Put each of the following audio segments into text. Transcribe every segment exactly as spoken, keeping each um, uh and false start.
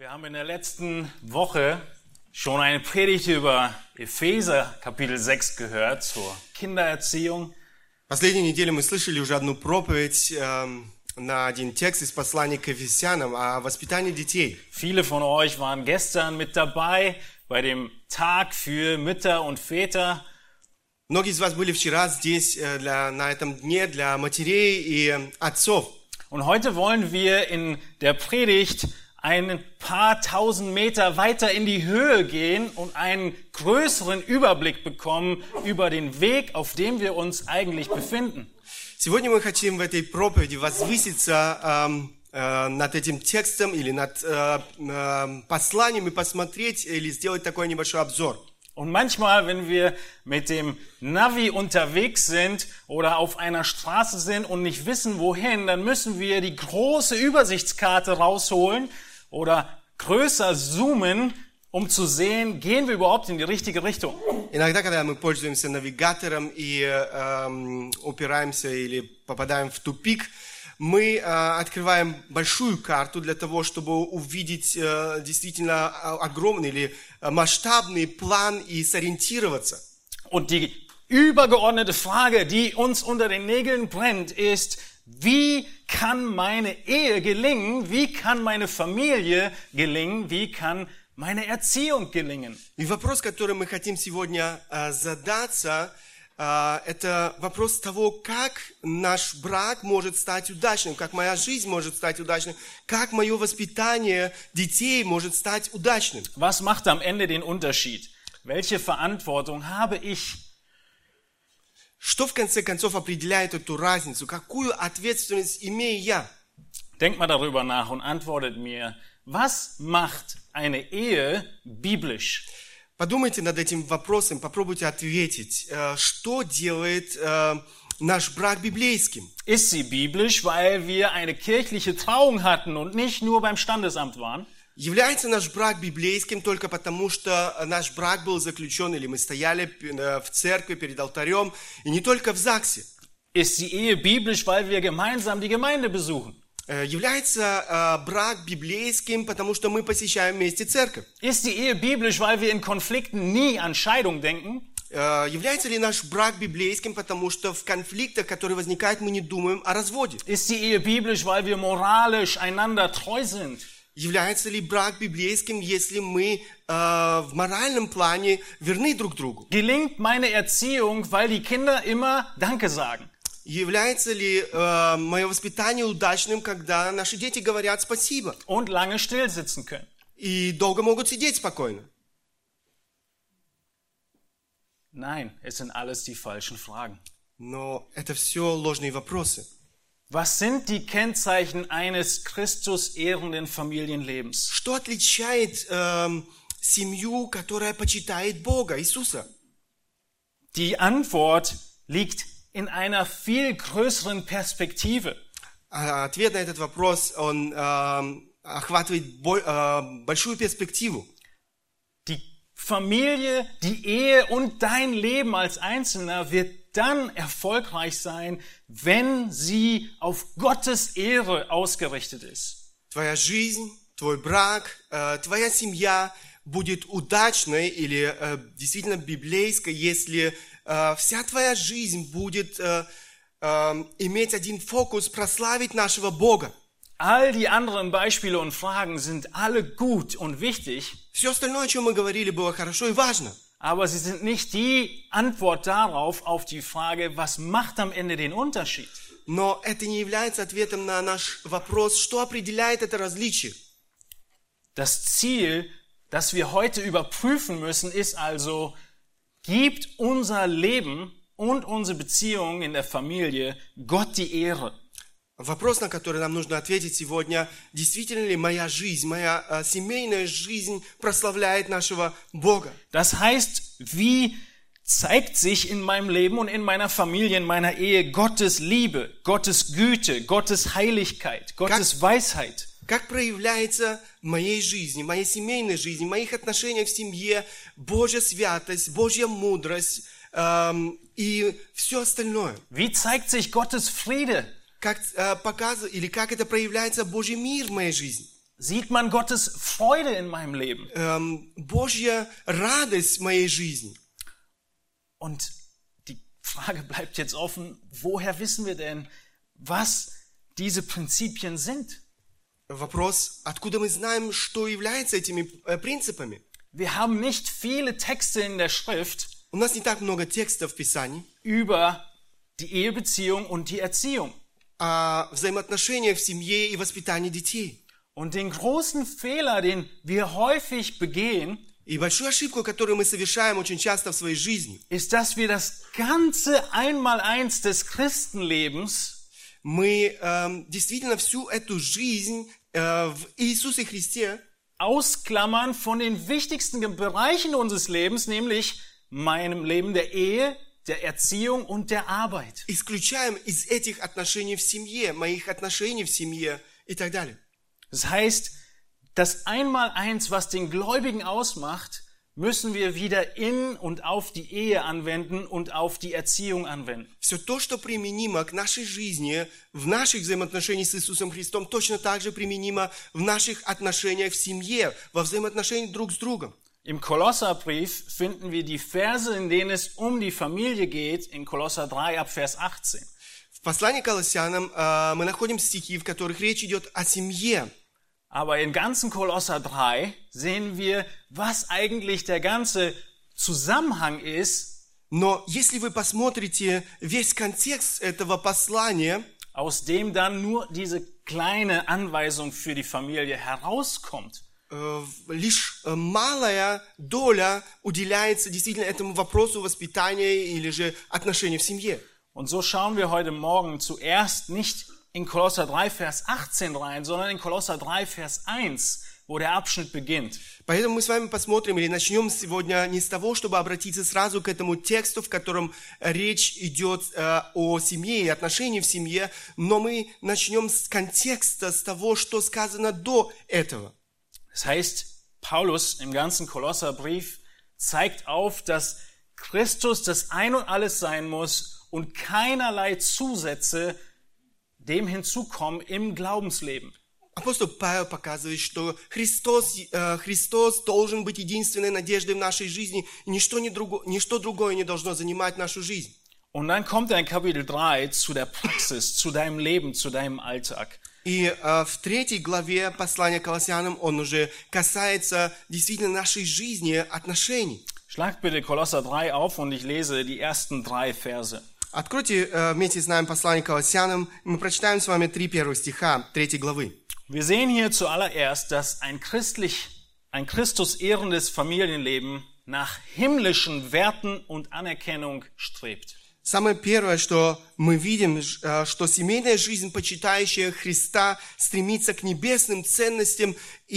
Wir haben in der letzten Woche schon eine Predigt über Epheser Kapitel sechs gehört zur Kindererziehung. Последнюю неделю мы слышали уже одну проповедь э, на один текст из послания к Ефесянам о воспитании детей. Viele von euch waren gestern mit dabei bei dem Tag für Mütter und Väter. Многие из вас были вчера здесь э, для, на этом дне для матерей и э, отцов. Und heute wollen wir in der Predigt ein paar tausend Meter weiter in die Höhe gehen und einen größeren Überblick bekommen über den Weg, auf dem wir uns eigentlich befinden. Сегодня мы хотим в этой проповеди возвыситься э, э, над этим текстом или над э, э, посланием и посмотреть или сделать такой небольшой обзор. Und manchmal, wenn wir mit dem Navi unterwegs sind oder auf einer Straße sind und nicht wissen, wohin, dann müssen wir die große Übersichtskarte rausholen oder größer zoomen, um zu sehen, gehen wir überhaupt in die richtige Richtung. Иногда, когда мы пользуемся навигатором и э, упираемся или попадаем в тупик, мы э, открываем большую карту для того, чтобы увидеть э, действительно огромный или масштабный план и сориентироваться. Und die übergeordnete Frage, die uns unter den Nägeln brennt, ist, wie kann meine Ehe gelingen? Wie kann meine Familie gelingen? Wie kann meine Erziehung gelingen? И вопрос, который мы хотим сегодня э, задаться, э, это вопрос того, как наш брак может стать удачным, как моя жизнь может стать удачной, как мое воспитание детей может стать удачным. Was macht am Ende den Unterschied? Welche Verantwortung habe ich? Что в конце концов определяет эту разницу? Какую ответственность имею я? Denkt mal darüber nach und antwortet mir, was macht eine Ehe biblisch? Подумайте над этим вопросом, попробуйте ответить, что делает наш брак библейским? Ist sie biblisch, weil wir eine kirchliche Trauung hatten und nicht nur beim Standesamt waren? Является наш брак библейским только потому, что наш брак был заключен, или мы стояли в церкви перед алтарем, и не только в ЗАГСе? Ist die Ehe biblisch, weil wir gemeinsam die Gemeinde besuchen? Является э, брак библейским, потому что мы посещаем вместе церковь? Ist die Ehe biblisch, weil wir in Konflikten nie an Scheidung denken? Э, является ли наш брак библейским, потому что в конфликтах, которые возникают, мы не думаем о разводе? Ist die Ehe biblisch, weil wir moralisch einander treu sind? Является ли брак библейским, если мы э, в моральном плане верны друг другу? Gelingt meine Erziehung, weil die Kinder immer Danke sagen? Является ли э, мое воспитание удачным, когда наши дети говорят спасибо? Und lange still sitzen können? И долго могут сидеть спокойно? Nein, es sind alles die falschen Fragen. Но это все ложные вопросы. Was sind die Kennzeichen eines Christus-ehrenden Familienlebens? Что отличает э, семью, которая почитает Бога, Иисуса? Die Antwort liegt in einer viel größeren Perspektive. Ответ на этот вопрос, он э, охватывает бо, э, большую перспективу. Die Familie, die Ehe und dein Leben als Einzelner wird dann erfolgreich sein, wenn sie auf Gottes Ehre ausgerichtet ist. Твоя жизнь, твой брак, э, твоя семья будет удачной или э, действительно библейской, если э, вся твоя жизнь будет э, э, иметь один фокус прославить нашего Бога. All die anderen Beispiele und Fragen sind alle gut und wichtig. Все остальное, о чем мы говорили, было хорошо и важно. Aber sie sind nicht die Antwort darauf, auf die Frage, was macht am Ende den Unterschied? Но это не является ответом на наш вопрос, что определяет это различие. Das Ziel, das wir heute überprüfen müssen, ist also, gibt unser Leben und unsere Beziehungen in der Familie Gott die Ehre? Вопрос, на который нам нужно ответить сегодня, действительно ли моя жизнь, моя э, семейная жизнь прославляет нашего Бога? Das heißt, wie zeigt sich in meinem Leben und in meiner Familie, in meiner Ehe Gottes Liebe, Gottes Güte, Gottes Heiligkeit, Gottes Как- Weisheit? Как проявляется в моей жизни, в моей семейной жизни, в моих отношениях в семье Божья святость, Божья мудрость эм, и все остальное? Wie zeigt sich Gottes Friede? Как э, показывает или как это проявляется Божий мир в моей жизни? sieht man Gottes Freude in meinem Leben. эм, Божья радость в моей жизни. Und die Frage bleibt jetzt offen, woher wissen wir denn, was diese Prinzipien sind? Вопрос, откуда мы знаем, что является этими э, принципами? Wir haben nicht viele Texte in der Schrift У нас не так много текстов в Писании über die Ehebeziehung und die Erziehung. о взаимоотношениях в семье и воспитании детей. Und den großen Fehler, den wir häufig begehen, И большую ошибку, которую мы совершаем очень часто в своей жизни, ist, dass wir das ganze Einmaleins des Christenlebens мы эм, действительно всю эту жизнь э, в Иисусе Христе ausklammern von den wichtigsten Bereichen unseres Lebens, nämlich meinem Leben der Ehe, der Erziehung und der Arbeit. исключаем из этих отношений в семье, моих отношений в семье и так далее. Das heißt, das Einmaleins, was den Gläubigen ausmacht, müssen wir wieder in und auf die Ehe anwenden und auf die Erziehung anwenden. Все то, что применимо к нашей жизни, в наших взаимоотношениях с Иисусом Христом, точно так же применимо в наших отношениях в семье, во взаимоотношениях друг с другом. Im Kolosserbrief finden wir die Verse, in denen es um die Familie geht, in Kolosser drei ab Vers achtzehn. В послании к Колоссянам э, мы находим стихи, в которых речь идет о семье. Aber in ganzen Kolosser drei sehen wir, was eigentlich der ganze Zusammenhang ist, Но если вы посмотрите весь контекст этого послания, aus dem dann nur diese kleine Anweisung für die Familie herauskommt. э, лишь э, малая доля уделяется действительно этому вопросу воспитания или же отношений в семье. Und so schauen wir heute Morgen zuerst nicht in Kolosser drei, Vers achtzehn rein, sondern in Kolosser drei, Vers eins, wo der Abschnitt beginnt. Поэтому мы с вами посмотрим или начнем сегодня не с того, чтобы обратиться сразу к этому тексту, в котором речь идет э, о семье и отношениях в семье, но мы начнем с контекста, с того, что сказано до этого. Das heißt, Paulus im ganzen Kolosserbrief zeigt auf, dass Christus das Ein und Alles sein muss und keinerlei Zusätze dem hinzukommen im Glaubensleben. Апостол Павел показывает, что Христос, э, Христос должен быть единственной надеждой в нашей жизни, и ничто, не друго, ничто другое не должно занимать нашу жизнь. Und dann kommt er in Kapitel drei zu der Praxis, zu deinem Leben, zu deinem Alltag. И э, в третьей главе послания к Колоссянам он уже касается действительно нашей жизни, отношений. Schlag bitte Kolosser drei auf und ich lese die ersten drei Verse. Откройте э, вместе с нами послание к Колоссянам, и мы прочитаем с вами три первых стиха третьей главы. Wir sehen hier zuallererst, dass ein christlich, ein Christus ehrendes Familienleben nach himmlischen Werten und Anerkennung strebt. Самое первое, что мы видим, э, что семейная жизнь, почитающая Христа, стремится к небесным ценностям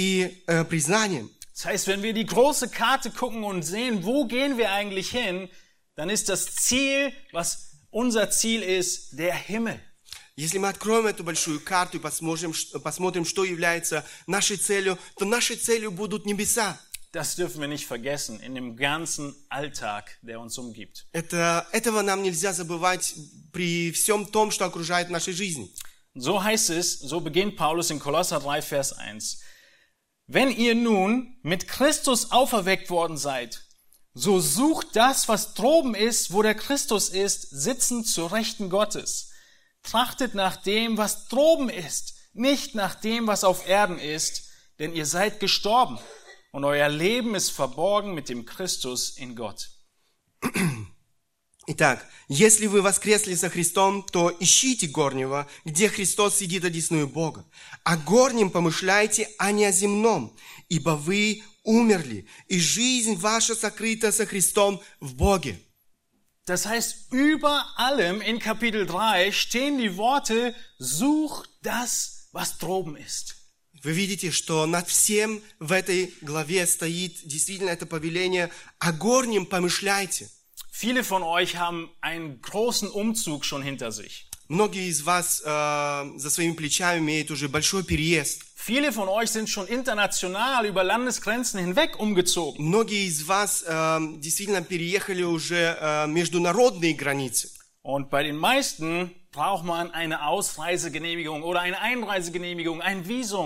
и э, признаниям. Das heißt, wenn wir die große Karte gucken und sehen, wo gehen wir eigentlich hin, dann ist das Ziel, was unser Ziel ist, der Himmel. Если мы откроем эту большую карту и посмотрим, посмотрим, что является нашей целью, то нашей целью будут небеса. Das dürfen wir nicht vergessen in dem ganzen Alltag, der uns umgibt. Это, этого нам нельзя забывать при всем том, что окружает в нашей жизни. So heißt es, so beginnt Paulus in Kolosser drei, Vers eins. Wenn ihr nun mit Christus auferweckt worden seid, so sucht das, was droben ist, wo der Christus ist, sitzend zur Rechten Gottes. Trachtet nach dem, was droben ist, nicht nach dem, was auf Erden ist, denn ihr seid gestorben und euer Leben ist verborgen mit dem Christus in Gott. Итак, если вы воскресли со Христом, то ищите горнего, где Христос сидит одесную Бога. О горнем помышляйте, а не о земном, ибо вы умерли, и жизнь ваша сокрыта со Христом в Боге. Das heißt, über allem in Kapitel drei stehen die Worte, such das, was droben ist. Вы видите, что над всем в этой главе стоит действительно это повеление «О горнем помышляйте». Viele von euch haben einen großen Umzug schon hinter sich. Многие из вас э, за своими плечами имеют уже большой переезд. Viele von euch sind schon international über Landesgrenzen hinweg umgezogen. Многие из вас э, действительно переехали уже э, международные границы. Und bei den meisten braucht man eine Ausreisegenehmigung oder eine Einreisegenehmigung, ein Visum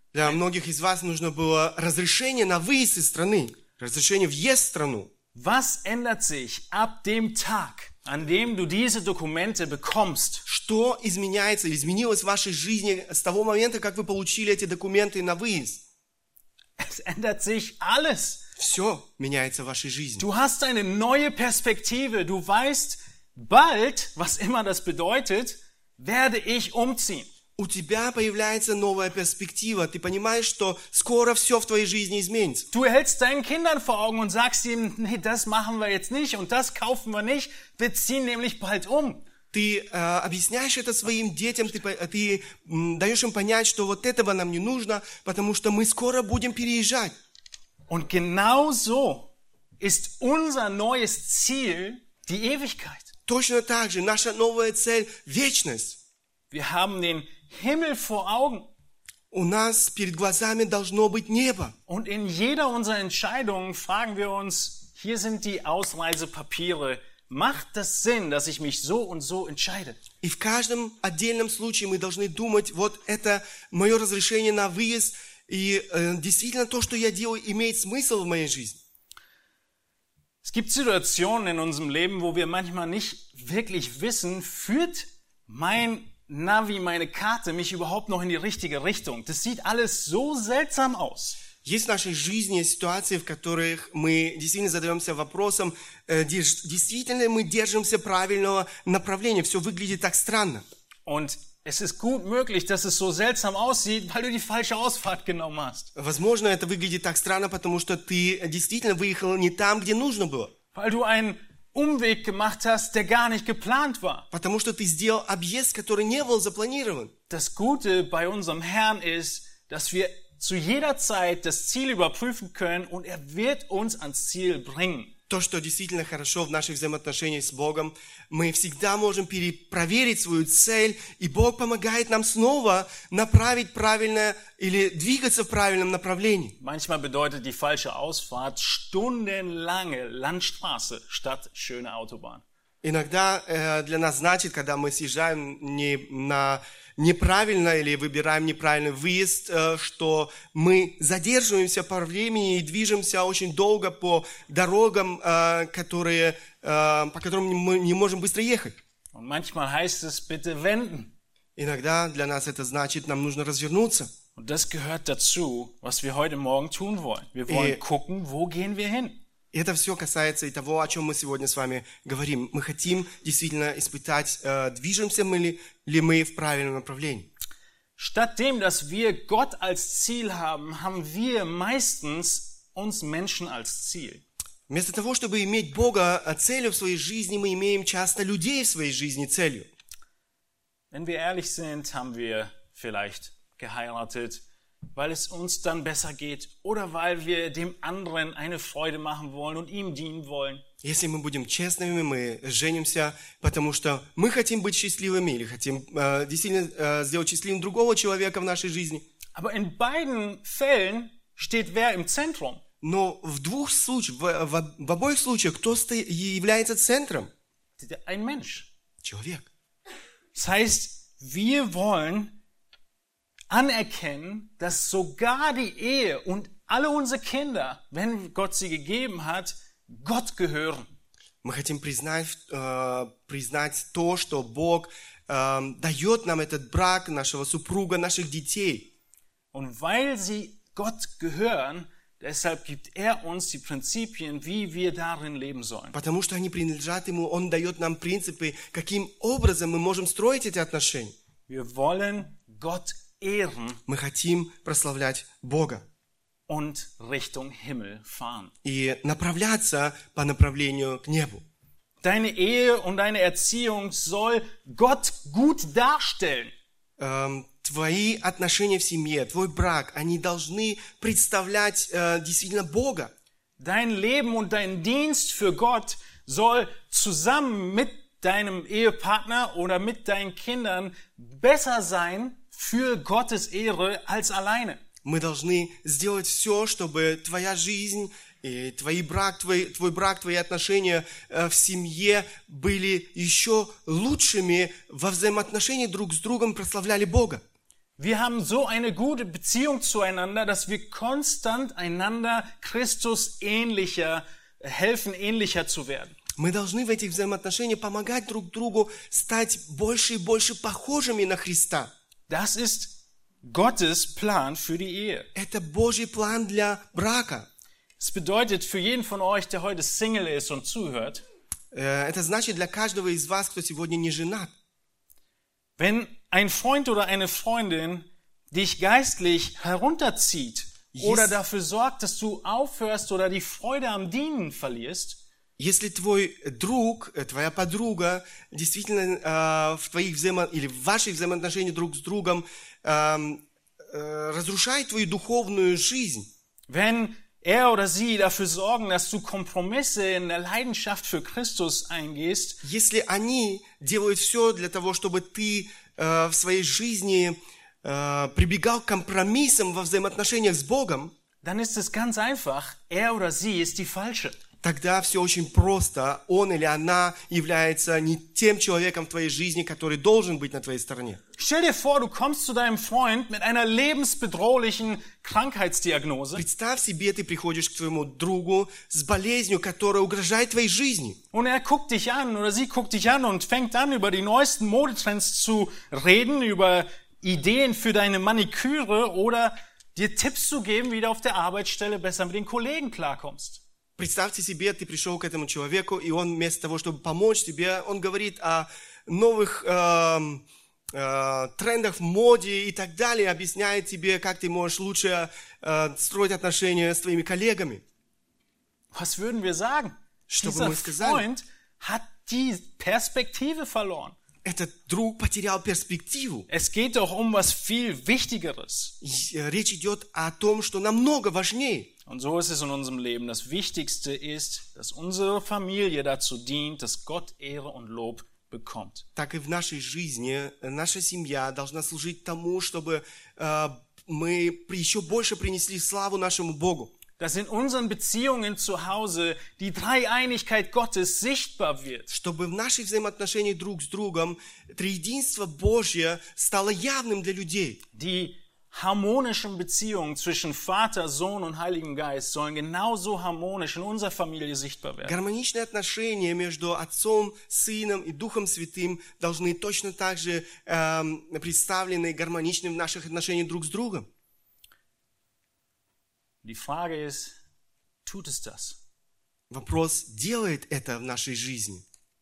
Для многих из вас нужно было разрешение на выезд из страны, разрешение въезд в страну. Was ändert sich ab dem Tag, an dem du diese Dokumente bekommst? Что изменяется или изменилось в вашей жизни с того момента, как вы получили эти документы на выезд? Es ändert sich alles. Все меняется в вашей жизни. Du hast eine neue Perspektive. Du weißt, bald, was immer das bedeutet, werde ich umziehen. У тебя появляется новая перспектива. Ты понимаешь, что скоро все в твоей жизни изменится. Du hältst deinen Kindern vor Augen und sagst ihnen, nee, das machen wir jetzt nicht und das kaufen wir nicht. Wir ziehen nämlich bald um. Ты э, объясняешь это своим детям, ты, ты м, даешь им понять, что вот этого нам не нужно, потому что мы скоро будем переезжать. Und genau so ist unser neues Ziel die Ewigkeit. Точно так же наша новая цель – вечность. Wir haben den Himmel vor Augen. У нас перед глазами должно быть небо. Und in jeder unserer Entscheidungen fragen wir uns, hier sind die Ausreisepapiere. Macht das Sinn, dass ich mich so und so entscheide? И в каждом отдельном случае мы должны думать, вот это мое разрешение на выезд, и э, действительно то, что я делаю, имеет смысл в моей жизни. Es gibt Situationen in unserem Leben, wo wir manchmal nicht wirklich wissen, führt mein Navi, meine Karte mich überhaupt noch in die richtige Richtung? Das sieht alles so seltsam aus. Есть в нашей жизни ситуации, в которых мы действительно задаемся вопросом, э, действительно мы держимся правильного направления. Все выглядит так странно. Und es ist gut möglich, dass es so seltsam aussieht, weil du die falsche Ausfahrt genommen hast. Возможно, это выглядит так странно, потому что ты действительно выехал не там, где нужно было. Weil du einen Umweg gemacht hast, der gar nicht geplant war. Потому что ты сделал объезд, который не был запланирован. Das Gute bei unserem Herrn ist, dass wir zu jeder Zeit das Ziel überprüfen können und er wird uns ans Ziel bringen. То, что действительно хорошо в наших взаимоотношениях с Богом, мы всегда можем перепроверить свою цель, и Бог помогает нам снова направить правильно или двигаться в правильном направлении. Manchmal bedeutet die falsche Ausfahrt stundenlange Landstraße statt schöne Autobahn. Иногда э, для нас значит, когда мы съезжаем не на неправильно или выбираем неправильный выезд, э, что мы задерживаемся по времени и движемся очень долго по дорогам, э, которые, э, по которым мы не можем быстро ехать. Und manchmal heißt es bitte wenden. Иногда для нас это значит, нам нужно развернуться. Und das gehört dazu, was wir heute Morgen tun wollen. Wir wollen И- gucken, wo gehen wir hin? И это все касается и того, о чем мы сегодня с вами говорим. Мы хотим действительно испытать, э, движемся мы ли, ли мы в правильном направлении. Statt dem, dass wir Gott als Ziel haben, haben wir meistens uns Menschen als Ziel. Вместо того, чтобы иметь Бога э, целью в своей жизни, мы имеем часто людей в своей жизни целью. Wenn wir ehrlich sind, haben wir vielleicht geheiratet, weil es uns dann besser geht oder weil wir dem anderen eine Freude machen wollen und ihm dienen wollen. Если мы будем честными, мы женимся, потому что мы хотим быть счастливыми или хотим э, действительно э, сделать счастливым другого человека в нашей жизни. Aber in beiden Fällen steht wer im Zentrum? Но в двух случаях, в, в, в обоих случаях, кто сто- является центром? Ein Mensch. Человек. Das heißt, wir wollen anerkennen, dass sogar die Ehe und alle unsere Kinder, wenn Gott sie gegeben hat, Gott gehören. Мы хотим признать, э, признать то, что Бог э, дает нам этот брак, нашего супруга, наших детей. Und weil sie Gott gehören, deshalb gibt er uns die Prinzipien, wie wir darin leben sollen. Потому что они принадлежат Ему, Он дает нам принципы, каким образом мы можем строить эти отношения. Wir wollen Gott ehren Мы хотим прославлять Бога und Richtung Himmel fahren. и направляться по направлению к небу. Deine Ehe und deine Erziehung soll Gott gut darstellen. Эм, твои отношения в семье, твой брак, они должны представлять э, действительно Бога. Dein Leben und dein Dienst für Gott soll zusammen mit deinem Ehepartner oder mit deinen Kindern besser sein für Gottes Ehre als alleine. Мы должны сделать все, чтобы твоя жизнь, и твой брак, твой, твой брак, твои отношения э, в семье были еще лучшими во взаимоотношении друг с другом, прославляли Бога. Wir haben so eine gute Beziehung zueinander, dass wir konstant einander Christus ähnlicher helfen, ähnlicher zu werden. Мы должны в этих взаимоотношениях помогать друг другу стать больше и больше похожими на Христа. Das ist Gottes Plan für die Ehe. Это Божий план для брака. Es bedeutet für jeden von euch, der heute Single ist und zuhört, Это значит для каждого из вас, кто сегодня не женат. wenn ein Freund oder eine Freundin dich geistlich herunterzieht Yes. oder dafür sorgt, dass du aufhörst oder die Freude am Dienen verlierst, Если твой друг, твоя подруга действительно э, в твоих взаимо... или в ваших взаимоотношениях друг с другом э, э, разрушает твою духовную жизнь, wenn er oder sie dafür sorgen, dass du Kompromisse in der Leidenschaft für Christus eingehst, если они делают все для того, чтобы ты э, в своей жизни э, прибегал к компромиссам во взаимоотношениях с Богом, dann ist es ganz einfach, er oder sie ist die Falsche. тогда все очень просто. Он или она является не тем человеком в твоей жизни, который должен быть на твоей стороне. Stell dir vor, du kommst zu deinem Freund mit einer lebensbedrohlichen Krankheitsdiagnose Представь себе, ты приходишь к твоему другу с болезнью, которая угрожает твоей жизни. und er guckt dich an oder sie guckt dich an und fängt an, über die neuesten Modetrends zu reden, über Ideen für deine Maniküre oder dir Tipps zu geben, wie du auf der Arbeitsstelle besser mit den Kollegen klarkommst. Представьте себе, ты пришел к этому человеку, и он вместо того, чтобы помочь тебе, он говорит о новых э, э, трендах в моде и так далее, объясняет тебе, как ты можешь лучше э, строить отношения с твоими коллегами. Was würden wir sagen? Что бы Dieser мы сказали? Freund hat die Perspektive verloren. Этот друг потерял перспективу. Es geht doch um was viel Wichtigeres. И, э, речь идет о том, что намного важнее. Und so ist es in unserem Leben. Das Wichtigste ist, dass unsere Familie dazu dient, dass Gott Ehre und Lob bekommt. Так и в нашей жизни наша семья должна служить тому, чтобы э, мы еще больше принесли славу нашему Богу. Dass in unseren Beziehungen zu Hause die Dreieinigkeit Gottes sichtbar wird. Чтобы в наших взаимоотношениях друг с другом триединство Божье стало явным для людей. Die harmonischen Beziehungen zwischen Vater, Sohn und Heiligen Geist sollen genauso harmonisch in unserer Familie sichtbar werden. Гармоничные отношения между Отцом, Сыном и Духом Святым должны точно так же э, представлены гармоничны в наших отношениях друг с другом. Die Frage ist, tut es das? Вопрос, делает это в нашей жизни?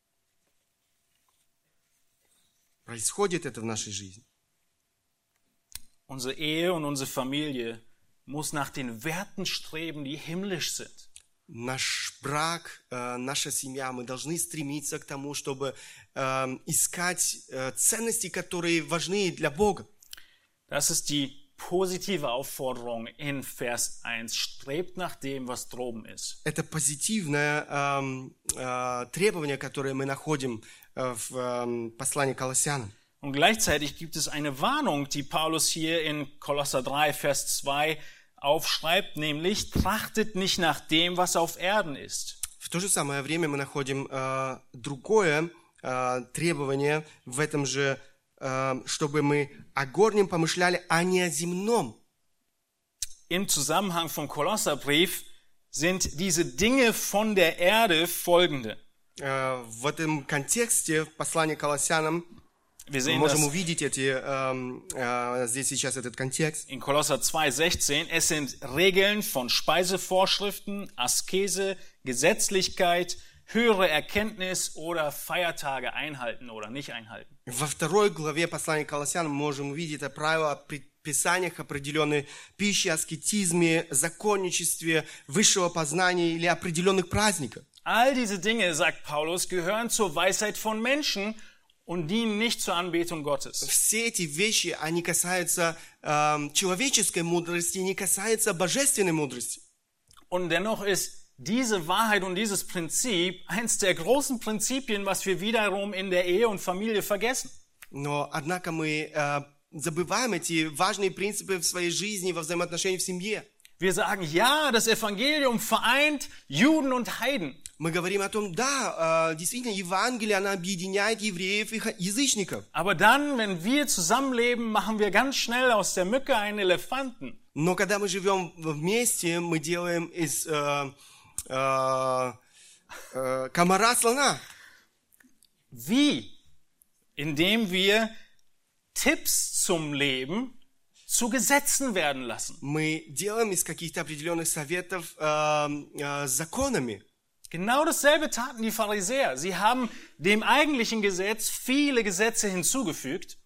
Происходит это в нашей жизни? Unsere Ehe und unsere Familie muss nach den Werten streben, die himmlisch sind. Наш брак, э, наша семья, мы должны стремиться к тому, чтобы э, искать э, ценности, которые важны для Бога. Das ist die positive Aufforderung in Vers eins. Strebt nach dem, was droben ist. Это позитивное э, э, требование, которое мы находим э, в э, послании к Колоссянам. Und gleichzeitig gibt es eine Warnung, die Paulus hier in Kolosser drei, Vers zwei aufschreibt, nämlich trachtet nicht nach dem, was auf Erden ist. В то же самое время мы находим э, другое э, требование в этом же, э, чтобы мы о горнем помышляли, а не о земном. Im Zusammenhang vom Kolosserbrief sind diese Dinge von der Erde folgende. Äh, в этом контексте, в послании к Колоссянам, Wir мы sehen можем das увидеть эти, э, äh, здесь сейчас этот контекст. in Kolosser zwei, sechzehn. Es sind Regeln von Speisevorschriften, Askese, Gesetzlichkeit, höhere Erkenntnis oder Feiertage einhalten oder nicht einhalten. Во второй главе послания к Колоссянам мы можем увидеть это правило о предписаниях определенной пищи, аскетизме, законничестве, высшего познания или определенных праздниках. All diese Dinge, sagt Paulus, gehören zur Weisheit von Menschen und dienen nicht zur Anbetung Gottes. Все эти вещи, они касаются э, человеческой мудрости, не касаются божественной мудрости. Und dennoch ist diese Wahrheit und dieses Prinzip eins der großen Prinzipien, was wir wiederum in der Ehe und Familie vergessen. Но, однако, мы э, забываем эти важные принципы в своей жизни, во взаимоотношениях в семье. Wir sagen, ja, das Evangelium vereint Juden und Heiden. Мы говорим о том, да, действительно, Евангелие, оно объединяет евреев и язычников. Aber dann, wenn wir zusammenleben, machen wir ganz schnell aus der Mücke einen Elefanten. Но когда мы живем вместе, мы делаем из э, э, э, комара слона. Wie? Indem wir Tipps zum Leben zu Gesetzen werden lassen. Мы делаем из каких-то определенных советов э, э, законами. Genau dasselbe taten die Pharisäer. Sie haben dem eigentlichen Gesetz viele Gesetze hinzugefügt.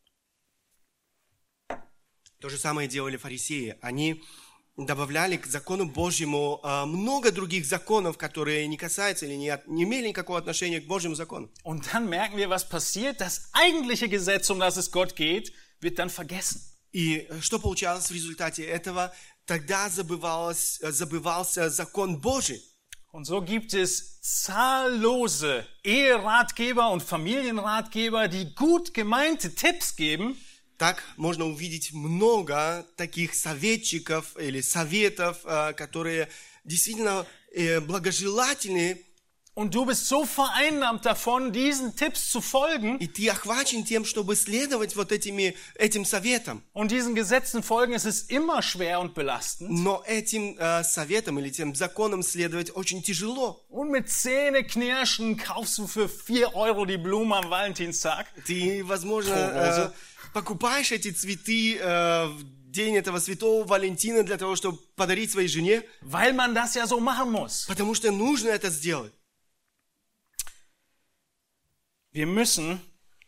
То же самое делали фарисеи. Они добавляли к закону Божьему э, много других законов, которые не касаются или не, от, не имели никакого отношения к Божьему закону. Und dann merken wir, was passiert. Das eigentliche Gesetz, um das es Gott geht, wird dann vergessen. И что получалось в результате этого? Тогда забывалось, забывался закон Божий. Und so gibt es zahllose Eheratgeber und Familienratgeber, die gut gemeinte Tipps geben. Так можно увидеть много таких советчиков или советов, которые действительно благожелательны. Und du bist so vereinnahmt davon, diesen Tipps zu folgen. И ты охвачен тем, чтобы следовать вот этими, этим советам. Und diesen Gesetzen folgen, es ist immer schwer und belastend. Но этим äh, советам или тем законам следовать очень тяжело. Und mit Zähneknirschen kaufst du für vier Euro die Blumen am Valentinstag. Ты, возможно, äh, покупаешь эти цветы äh, в день этого святого Валентина для того, чтобы подарить своей жене. Weil man das ja so machen muss. Потому что нужно это сделать. Wir müssen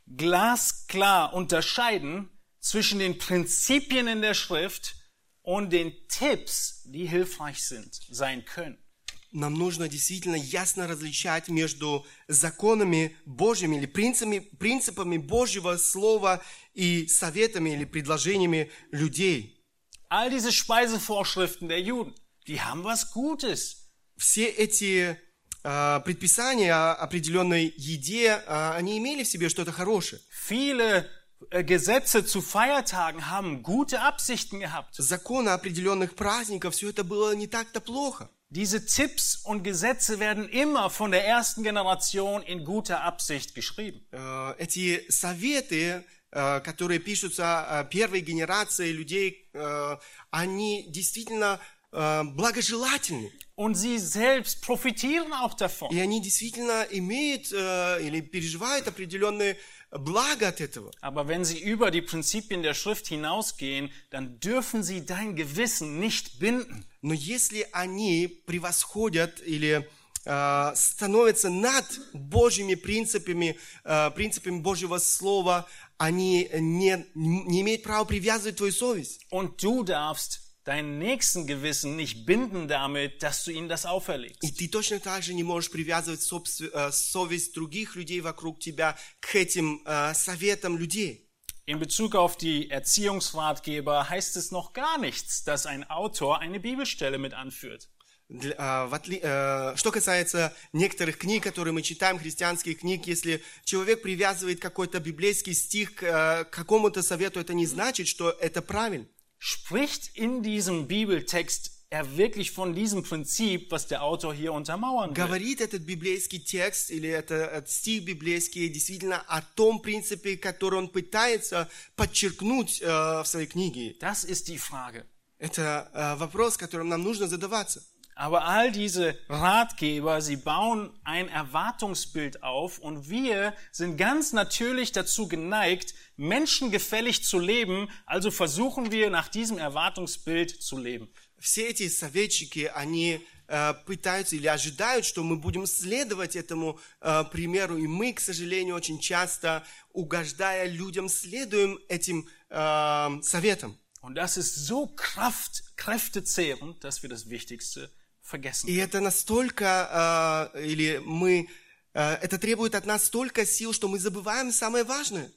glasklar unterscheiden zwischen den Prinzipien in der Schrift und den Tipps, die hilfreich sind, sein können. Нам нужно действительно ясно различать между законами Божьими или принципами, принципами Божьего Слова и советами или предложениями людей. All diese Speisevorschriften der Juden, die haben was Gutes. Все эти äh, предписания о определенной еде, äh, они имели в себе что-то хорошее. Viele äh, Gesetze zu Feiertagen haben gute Absichten gehabt. Законы определенных праздников, все это было не так-то плохо. Diese Tipps und Gesetze werden immer von der ersten Generation in guter Absicht geschrieben. Äh, эти советы, äh, которые пишутся первой генерацией людей, äh, они действительно äh, благожелательны. Und sie selbst profitieren auch davon. И они действительно имеют äh, или переживают определенные благо от этого. Aber wenn sie über die Prinzipien der Schrift hinausgehen, dann dürfen sie dein Gewissen nicht binden. Но если они превосходят или äh, становятся над Божьими принципами, äh, принципами Божьего Слова, они не, не имеют права привязывать твою совесть. Und du darfst deinen nächsten Gewissen nicht binden damit, dass du ihnen das auferlegst. И ты точно так же не можешь привязывать собствен, äh, совесть других людей вокруг тебя к этим äh, советам людей. In Bezug auf die Erziehungsratgeber heißt es noch gar nichts, dass ein Autor eine Bibelstelle mit anführt. Для, äh, в отли, äh, что касается некоторых книг, которые мы читаем, христианских книг, если человек привязывает какой-то библейский стих к äh, какому-то совету, это не значит, что это правильно. Spricht in diesem Bibeltext er wirklich von diesem Prinzip, was der Autor hier untermauern will? Говорит этот библейский текст или это, этот стих библейский действительно о том принципе, который он пытается подчеркнуть äh, в своей книге? Das ist die Frage. Это äh, вопрос, которым нам нужно задаваться. Aber all diese Ratgeber, sie bauen ein Erwartungsbild auf und wir sind ganz natürlich dazu geneigt, menschengefällig zu leben, also versuchen wir nach diesem Erwartungsbild zu leben. Все эти советчики, они äh, пытаются или ожидают, что мы будем следовать этому äh, примеру, и мы, к сожалению, очень часто, угождая людям, следуем этим äh, советам. Und das ist so kraft, kräftezehrend, dass wir das Wichtigste vergessen. И это настолько, äh, или мы, äh, это требует от нас столько сил, что мы забываем самое важное.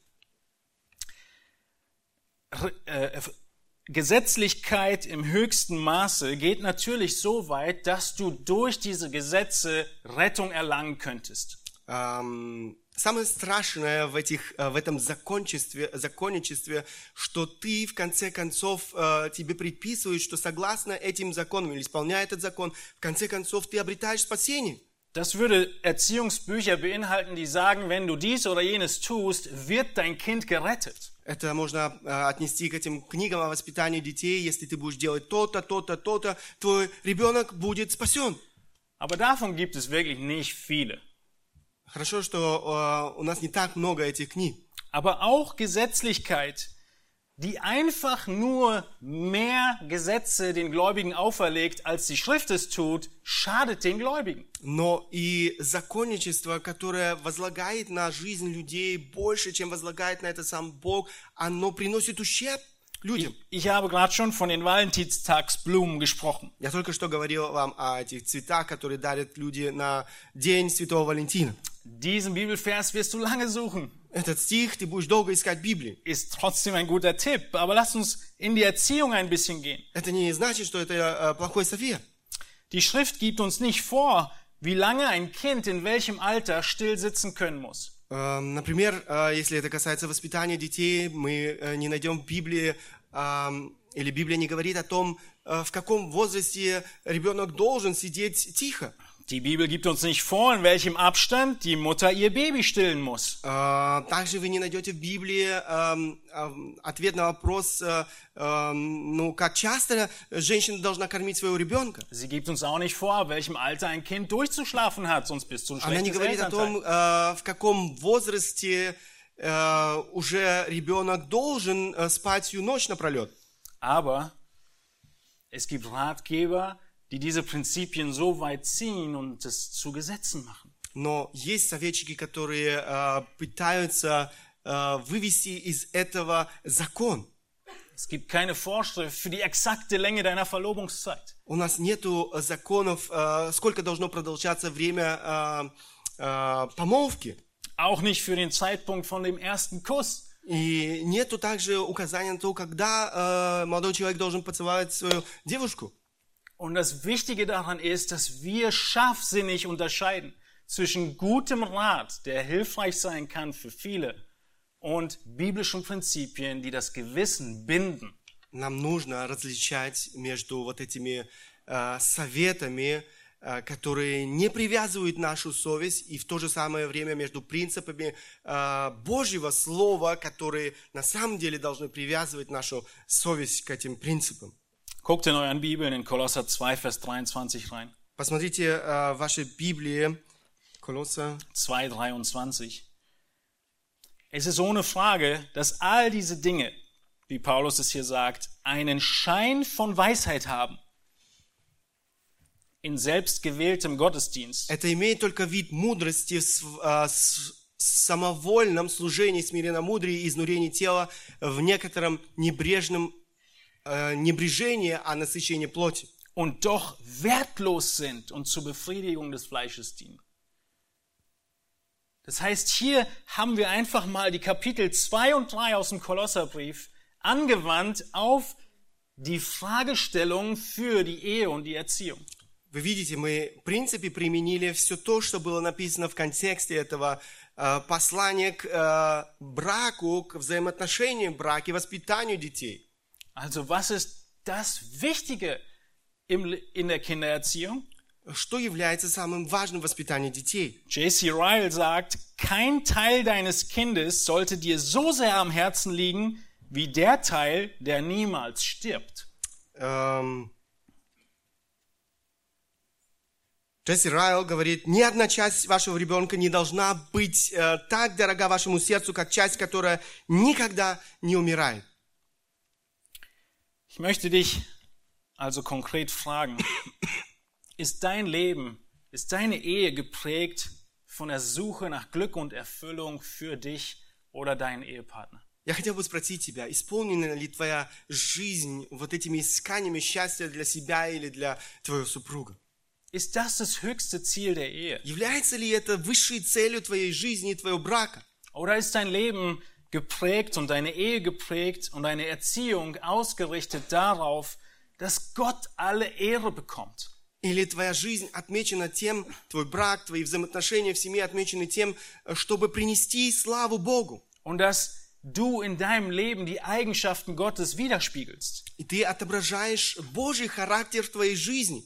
Gesetzlichkeit im höchsten Maße geht natürlich so weit, dass du durch diese Gesetze Rettung erlangen könntest. Ähm, самое страшное в, этих, в этом законничестве, законничестве, что ты в конце концов тебе предписывают, что согласно этим законам или исполняя этот закон, в конце концов ты обретаешь спасение. Das würde Erziehungsbücher beinhalten, die sagen, wenn du dies oder jenes tust, wird dein Kind gerettet. Это можно э, отнести к этим книгам о воспитании детей. Если ты будешь делать то-то, то-то, то-то, твой ребенок будет спасен. Aber davon gibt es wirklich nicht viele. Хорошо, что э, у нас не так много этих книг. Aber auch Gesetzlichkeit, die einfach nur mehr Gesetze den Gläubigen auferlegt, als die Schrift es tut, schadet den Gläubigen. Но и законничество, которое возлагает на жизнь людей больше, чем возлагает на это сам Бог, оно приносит ущерб людям. Ich, ich habe gerade schon von den Valentinstagsblumen gesprochen. Я только что говорил вам о этих цветах, которые дарят люди на День Святого Валентина. Diesen Bibelvers wirst du lange suchen. Этот стих ты будешь долго искать в Библии. Ist trotzdem ein guter Tipp, aber lass uns in die Erziehung ein bisschen gehen. Это не значит, что это äh, плохой совет. Die Schrift gibt uns nicht vor, wie lange ein Kind in welchem Alter still sitzen können muss. Äh, например, äh, если это касается воспитания детей, мы äh, не найдем в Библии, äh, или Библия не говорит о том, äh, в каком возрасте ребенок должен сидеть тихо. Die Bibel gibt uns nicht vor, in welchem Abstand die Mutter ihr Baby stillen muss. Äh, также вы не найдете в Библии äh, äh, ответ на вопрос, äh, äh, ну, как часто женщина должна кормить своего ребенка. Sie gibt uns auch nicht vor, welchem Alter ein Kind durchzuschlafen hat, sonst bist du ein Она не schlechtes говорит о том, Elternteil. äh, в каком возрасте äh, уже ребенок должен äh, спать всю ночь напролет. Aber es gibt Ratgeber, die diese Prinzipien so weit ziehen und es zu Gesetzen machen. Но есть советчики, которые äh, пытаются äh, вывести из этого закон. Es gibt keine Vorschrift für die exakte Länge deiner Verlobungszeit. У нас нету законов, äh, сколько должно продолжаться время äh, äh, помолвки. Auch nicht für den Zeitpunkt von dem ersten Kuss. И нету также указания на то, когда äh, молодой человек должен поцеловать свою девушку. Und das Wichtige daran ist, dass wir scharfsinnig unterscheiden zwischen gutem Rat, der hilfreich sein kann für viele, und biblischen Prinzipien, die das Gewissen binden. Нам нужно различать между вот этими äh, советами, äh, которые не привязывают нашу совесть, и в то же самое время между принципами äh, Божьего Слова, которые на самом деле должны привязывать нашу совесть к этим принципам. Guckt in euren Bibeln in Kolosser zwei, Vers dreiundzwanzig rein. Посмотрите äh, ваши Библии, Kolosser zwei, dreiundzwanzig. Es ist ohne Frage, dass all diese Dinge, wie Paulus es hier sagt, einen Schein von Weisheit haben. In selbstgewähltem Gottesdienst. Это имеет только вид мудрости в äh, самовольном служении, смиренномудрии и изнурении тела в некотором небрежном äh, небрежении, а насыщении плоти. Und doch wertlos sind und zur Befriedigung des Fleisches dienen. Das heißt, hier haben wir einfach mal die Kapitel zwei und drei aus dem Kolosserbrief angewandt auf die Fragestellung für die Ehe und die Erziehung. Вы видите, мы в принципе применили все то, что было написано в контексте этого äh, послания к äh, браку, к взаимоотношениям брака и воспитанию детей. Also was ist das Wichtige im, in der Kindererziehung? Что является самым важным в воспитании детей? J C Ryle sagt, kein Teil deines Kindes sollte dir so sehr am Herzen liegen, wie der Teil, der niemals stirbt. Ähm, Джесси Райл говорит, ни одна часть вашего ребенка не должна быть э, так дорога вашему сердцу, как часть, которая никогда не умирает. Ich möchte dich also konkret fragen, ist dein Leben, ist deine Ehe geprägt von der Suche nach Glück und Erfüllung für dich oder deinen Ehepartner? Я хотел бы спросить тебя, исполнена ли твоя жизнь вот этими исканиями счастья для себя или для твоего супруга? Ist das das höchste Ziel der Ehe? Является ли это высшей целью твоей жизни и твоего брака? Oder ist dein Leben geprägt und deine Ehe geprägt und deine Erziehung ausgerichtet darauf, dass Gott alle Ehre bekommt? Или твоя жизнь отмечена тем, твой брак, твои взаимоотношения в семье отмечены тем, чтобы принести славу Богу. Und dass du in deinem Leben die Eigenschaften Gottes widerspiegelst. И ты отображаешь Божий характер в твоей жизни.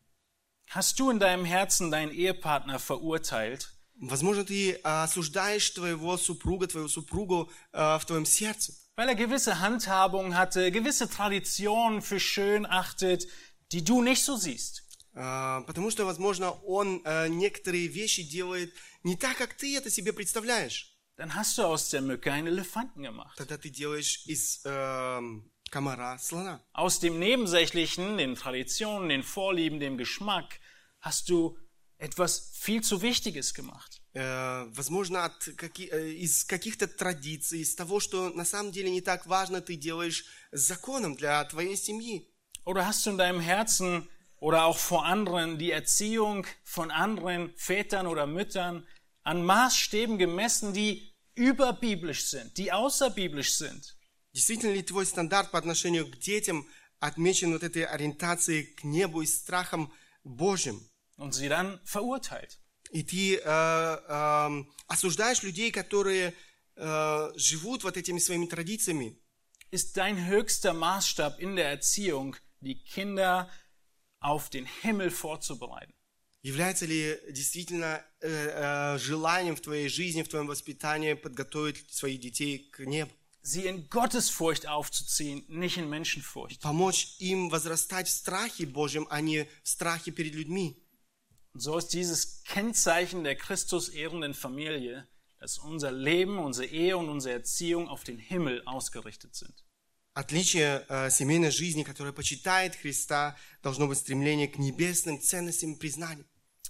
Hast du in deinem Herzen deinen Ehepartner verurteilt? Возможно, ты осуждаешь твоего супруга, твою супругу э, в твоем сердце. Weil er gewisse Handhabungen hatte, gewisse Traditionen für schön achtet, die du nicht so siehst. Э, потому что, возможно, он э, некоторые вещи делает не так, как ты это себе представляешь. Dann hast du aus der Mücke einen Elefanten gemacht. Тогда ты делаешь из э, комара слона. Aus dem Nebensächlichen, den Traditionen, den Vorlieben, dem Geschmack, hast du etwas viel zu Wichtiges gemacht. Э, возможно, от каки, э, из каких-то традиций, из того, что на самом деле не так важно, ты делаешь законом для твоей семьи. Oder hast du in deinem Herzen oder auch vor anderen die Erziehung von anderen Vätern oder Müttern an Maßstäben gemessen, die überbiblisch sind, die außerbiblisch sind? Действительно ли твой стандарт по отношению к детям отмечен вот этой ориентацией к небу и страхом Божьим? Und sie dann verurteilt. И ты э, э, осуждаешь людей, которые э, живут вот этими своими традициями. Ist dein höchster Maßstab in der Erziehung, die Kinder auf den Himmel vorzubereiten? Является ли действительно э, э, желанием в твоей жизни, в твоем воспитании подготовить своих детей к небу? Sie in Gottesfurcht aufzuziehen, nicht in Menschenfurcht. Помочь им возрастать в страхе Божьем, а не в страхе перед людьми. Und so ist dieses Kennzeichen der Christus-ehrenden Familie, dass unser Leben, unsere Ehe und unsere Erziehung auf den Himmel ausgerichtet sind. Отличие э, семейной жизни, которая почитает Христа, должно быть стремление к небесным ценностям и признаниям.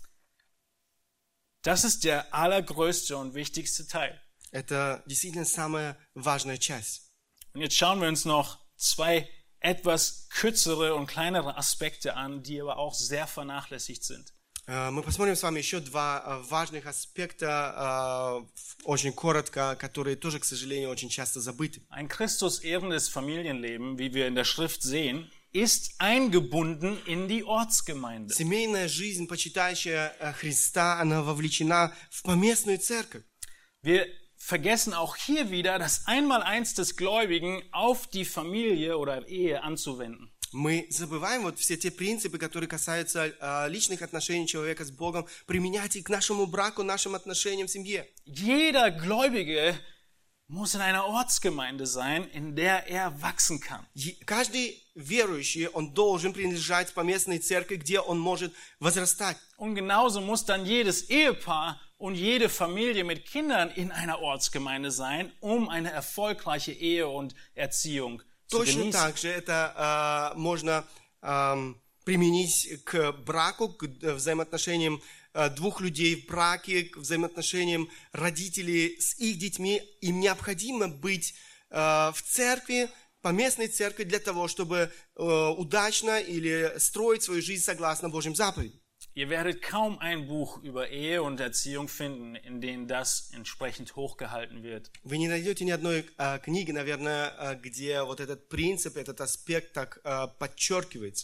Das ist der allergrößte und wichtigste Teil. Это действительно самая важная часть. Und jetzt schauen wir uns noch zwei etwas kürzere und kleinere Aspekte an, die aber auch sehr vernachlässigt sind. Мы посмотрим с вами еще два важных аспекта, очень коротко, которые тоже, к сожалению, очень часто забыты. Ein Christus-ehrendes Familienleben, wie wir in der Schrift sehen, ist eingebunden in die Ortsgemeinde. Семейная жизнь, почитающая Христа, она вовлечена в поместную церковь. Wir vergessen auch hier wieder das Einmaleins des Gläubigen auf die Familie oder Ehe anzuwenden. Мы забываем вот все те принципы, которые касаются э, личных отношений человека с Богом, применять их к нашему браку, нашим отношениям в семье. Jeder Gläubige muss in einer Ortsgemeinde sein, in der er wachsen kann. Каждый верующий, он должен принадлежать поместной церкви, где он может возрастать. Und genauso muss dann jedes Ehepaar und jede Familie mit Kindern in einer Ortsgemeinde sein, um eine erfolgreiche Ehe und Erziehung zu Точно genießen. так же это э, можно э, применить к браку, к взаимоотношениям э, двух людей в браке, к взаимоотношениям родителей с их детьми. Им необходимо быть э, в церкви, поместной церкви, для того, чтобы э, удачно или строить свою жизнь согласно Божьим заповедям. Ihr werdet kaum ein Buch über Ehe und Erziehung finden, in dem das entsprechend hochgehalten wird. Вы не найдете ни одной э, книги, наверное, э, где вот этот принцип, этот аспект так э, подчеркивается.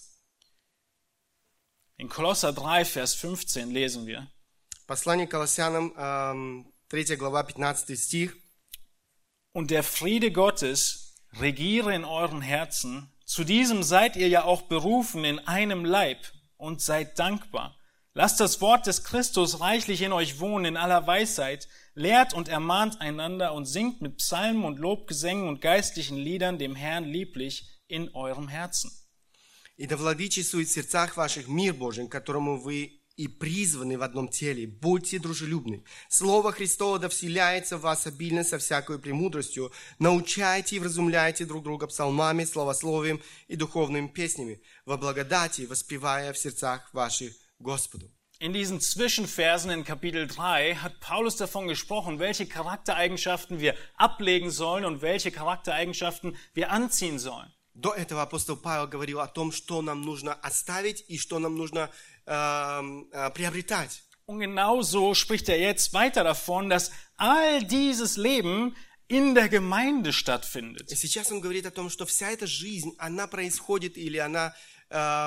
In Kolosser drei, Vers fünfzehn lesen wir: Послание к Колоссянам, э, третья глава, пятнадцатый стих. Und der Friede Gottes regiere in euren Herzen. Zu diesem seid ihr ja auch berufen in einem Leib und seid dankbar. Lasst das Wort des Christus reichlich in euch wohnen in aller Weisheit. Lehrt und ermahnt einander und singt mit Psalmen und Lobgesängen und geistlichen Liedern dem Herrn lieblich in eurem Herzen. И да владычествует в сердцах ваших мир Божий, к которому вы и призваны в одном теле. Будьте дружелюбны. Слово Христово да вселяется в вас обильно со всякой премудростью. Научайте и вразумляйте друг друга псалмами, словословием и духовными песнями, во благодати воспевая в сердцах ваших Господу. In diesen Zwischenversen in Kapitel drei hat Paulus davon gesprochen, welche Charaktereigenschaften wir ablegen sollen und welche Charaktereigenschaften wir anziehen sollen. До этого апостол Павел говорил о том, что нам нужно оставить и что нам нужно э, э, приобретать. Und genauso spricht er jetzt weiter davon, dass all dieses Leben in der Gemeinde stattfindet. И сейчас он говорит о том, что вся эта жизнь, она происходит или она э,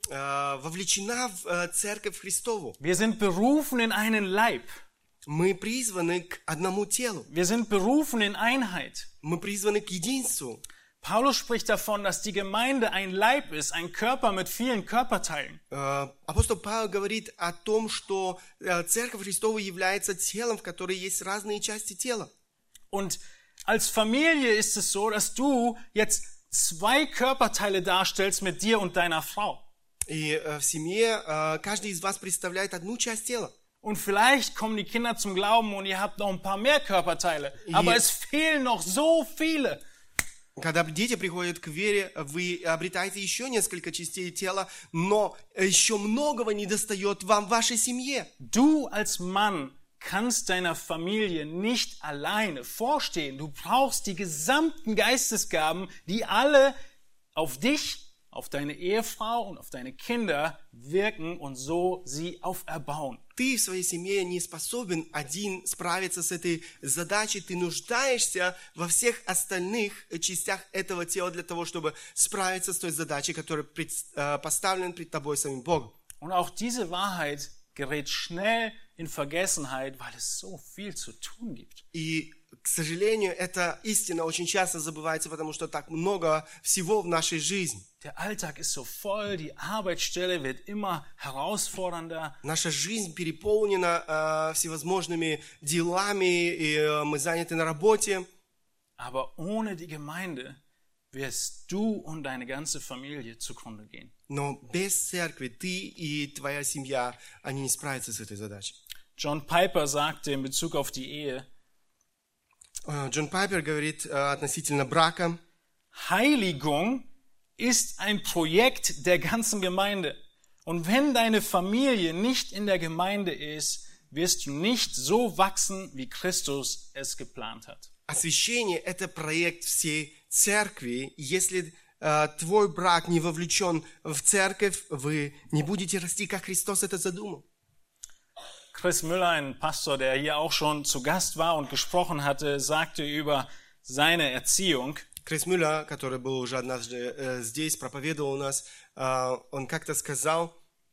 э, вовлечена в э, церковь Христову. Wir sind berufen in einen Leib. Мы призваны к одному телу. Wir sind berufen in Einheit. Мы призваны к единству. Paulus spricht davon, dass die Gemeinde ein Leib ist, ein Körper mit vielen Körperteilen. Э, Апостол Павел говорит о том, что э, церковь Христова является телом, в которой есть разные части тела. Und als Familie ist es so, dass du jetzt zwei Körperteile darstellst mit dir und deiner Frau. И э, в семье э, каждый из вас представляет одну часть тела. Und vielleicht kommen die Kinder zum Glauben und ihr habt noch ein paar mehr Körperteile. Aber es fehlen noch so viele. Когда дети приходят к вере, вы обретаете еще несколько частей тела, но еще многого недостает вам в вашей семье. Du als Mann kannst deiner Familie nicht alleine vorstehen. Du brauchst die gesamten Geistesgaben, die alle auf dich, auf deine Ehefrau und auf deine Kinder wirken und so sie auferbauen. Ты в своей семье не способен один справиться с этой задачей. Ты нуждаешься во всех остальных частях этого тела для того, чтобы справиться с той задачей, которая пред, э, поставлена пред тобой самим Богом. Und auch diese Wahrheit gerät schnell in Vergessenheit, weil es so viel zu tun gibt. И, к сожалению, эта истина очень часто забывается, потому что так много всего в нашей жизни. Der Alltag ist so voll, die Arbeitsstelle wird immer herausfordernder. Наша жизнь переполнена э, всевозможными делами, и э, мы заняты на работе. Aber ohne die Gemeinde wirst du und deine ganze Familie zugrunde gehen. Но без церкви ты и твоя семья, они не справятся с этой задачей. John Piper sagte in Bezug auf die Ehe, Э, Джон Пайпер говорит э, относительно брака: Heiligung ist ein Projekt der ganzen Gemeinde. Und wenn deine Familie nicht in der Gemeinde ist, wirst du nicht so wachsen, wie Christus es geplant hat. Освящение – это проект всей церкви. Если э, твой брак не вовлечен в церковь, вы не будете расти, как Христос это задумал. Chris Müller, ein Pastor, der hier auch schon zu Gast war und gesprochen hatte, sagte über seine Erziehung: Крис Мюллер, который был уже однажды э, здесь, проповедовал у нас, э, он как-то сказал: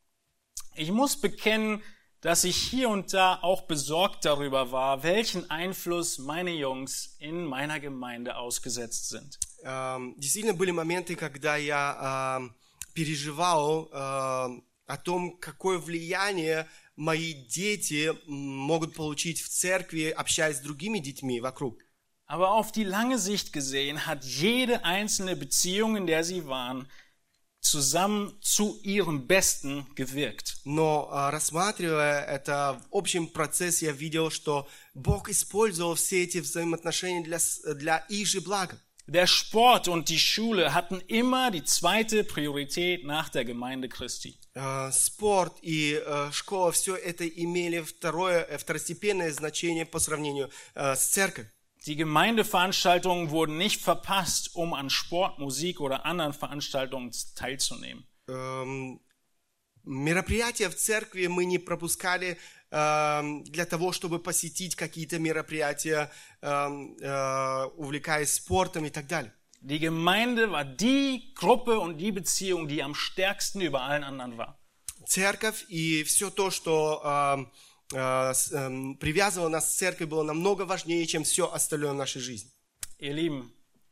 Ich muss bekennen, dass ich hier und da auch besorgt darüber war, welchen Einfluss meine Jungs in meiner Gemeinde ausgesetzt sind. э, действительно были моменты, когда я э, переживал э, о том, какое влияние мои дети могут получить в церкви, общаясь с другими детьми вокруг. Aber auf die lange Sicht gesehen hat jede einzelne Beziehung, in der sie waren, zusammen zu ihrem Besten gewirkt. Но э, рассматривая это в общем процессе, я видел, что Бог использовал все эти взаимоотношения для, с- для их же блага. Der Sport und die Schule hatten immer die zweite Priorität nach der Gemeinde Christi. Э, Спорт и э, школа, все это имели второе, э, второстепенное значение по сравнению э, с церковью. Die Gemeindeveranstaltungen wurden nicht verpasst, um an Sport, Musik oder anderen Veranstaltungen teilzunehmen. Эм, Мероприятия в церкви мы не пропускали эм, для того, чтобы посетить какие-то мероприятия, эм, э, увлекаясь спортом и так далее. Die Gemeinde war die Gruppe und die Beziehung, die am stärksten über allen anderen war. Церковь и все то, что эм, э, с- эм, привязывало нас к церкви, было намного важнее, чем все остальное в нашей жизни. Ihr Lieben,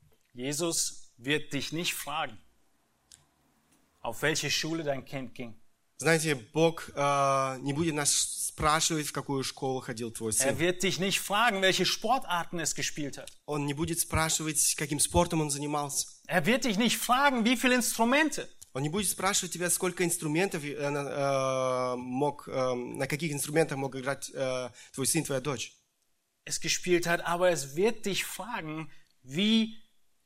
Jesus wird dich nicht fragen, auf welche Schule dein Kind ging. Знаете, Бог э, не будет нас спрашивать, в какую школу ходил твой Er сын. wird dich nicht fragen, welche Sportarten es gespielt hat. Он не будет спрашивать, каким спортом он занимался. Er wird dich nicht fragen, wie viele Instrumente. Он не будет спрашивать тебя, сколько инструментов э, на- э, мог, э, на каких инструментах мог играть э, твой сын, твоя дочь. es gespielt hat, aber es wird dich fragen, wie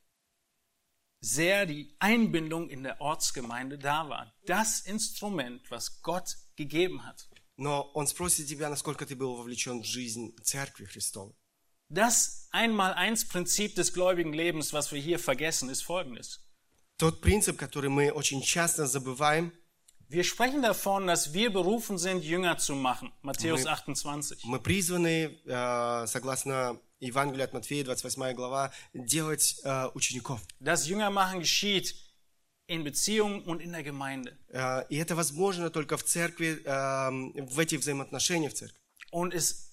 sehr die Einbindung in der Ortsgemeinde da war. Das Instrument, was Gott gegeben hat. Но он спросит тебя, насколько ты был вовлечен в жизнь Церкви Христовой. Das Einmal-Eins-Prinzip des gläubigen Lebens, was wir hier vergessen, ist folgendes. Тот принцип, который мы очень часто забываем, Wir sprechen davon, dass wir berufen sind, Jünger zu machen. Matthäus Мы- achtundzwanzig. мы призваны, э, согласно Евангелию от Матфея, двадцать восьмая глава, делать э, учеников. Das Jüngermachen geschieht in Beziehungen und in der Gemeinde. Э, И это возможно только в церкви, э, в этих взаимоотношениях в церкви. Und es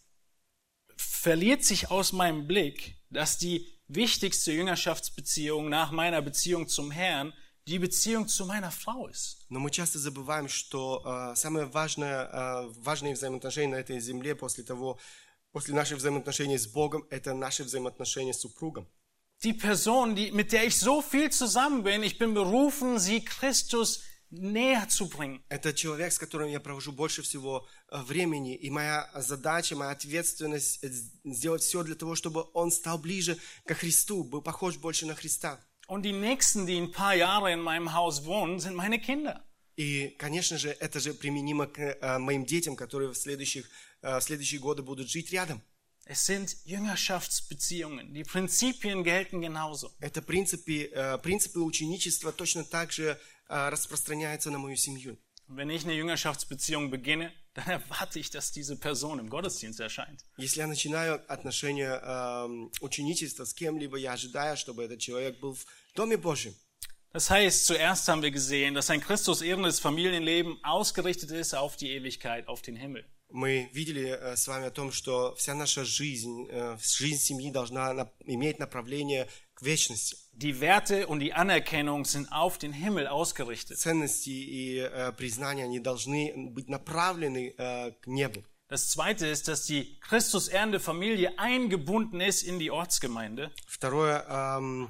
verliert sich aus meinem Blick, dass die wichtigste Jüngerschaftsbeziehung nach meiner Beziehung zum Herrn die Beziehung zu meiner Frau ist. Но мы часто забываем, что э, самое важное, э, важные взаимоотношения на этой земле после того, после наших взаимоотношений с Богом, это наши взаимоотношения с супругом. Die Person, die, mit der ich so viel zusammen bin, ich bin berufen, sie Christus näher zu bringen. Это человек, с которым я провожу больше всего э, времени, и моя задача, моя ответственность э, сделать все для того, чтобы он стал ближе ко Христу, был похож больше на Христа. Und die Nächsten, die ein paar Jahre in meinem Haus wohnen, sind meine Kinder. И, конечно же, это же применимо к э, моим детям, которые в следующих, э, в следующие годы будут жить рядом. Es sind Jüngerschaftsbeziehungen. Die Prinzipien gelten genauso. Это принципы, э, принципы ученичества точно так же э, распространяются на мою семью. Und wenn ich eine Jüngerschaftsbeziehung beginne, dann erwarte ich, dass diese Person im Gottesdienst erscheint. Если я начинаю отношения э, ученичества с кем-либо, я ожидаю, чтобы этот человек был в Доме Божьем. Das heißt, zuerst haben wir gesehen, dass ein Christus-ehrendes Familienleben ausgerichtet ist auf die Ewigkeit, auf den Himmel. Мы видели э, с вами о том, что вся наша жизнь, э, жизнь семьи должна на, иметь направление к вечности. Die Werte und die Anerkennung sind auf den Himmel ausgerichtet. Ценности и э, признания, они должны быть направлены э, к небу. Das Zweite ist, dass die Christus-ehrende Familie eingebunden ist in die Ortsgemeinde. Второе, эм,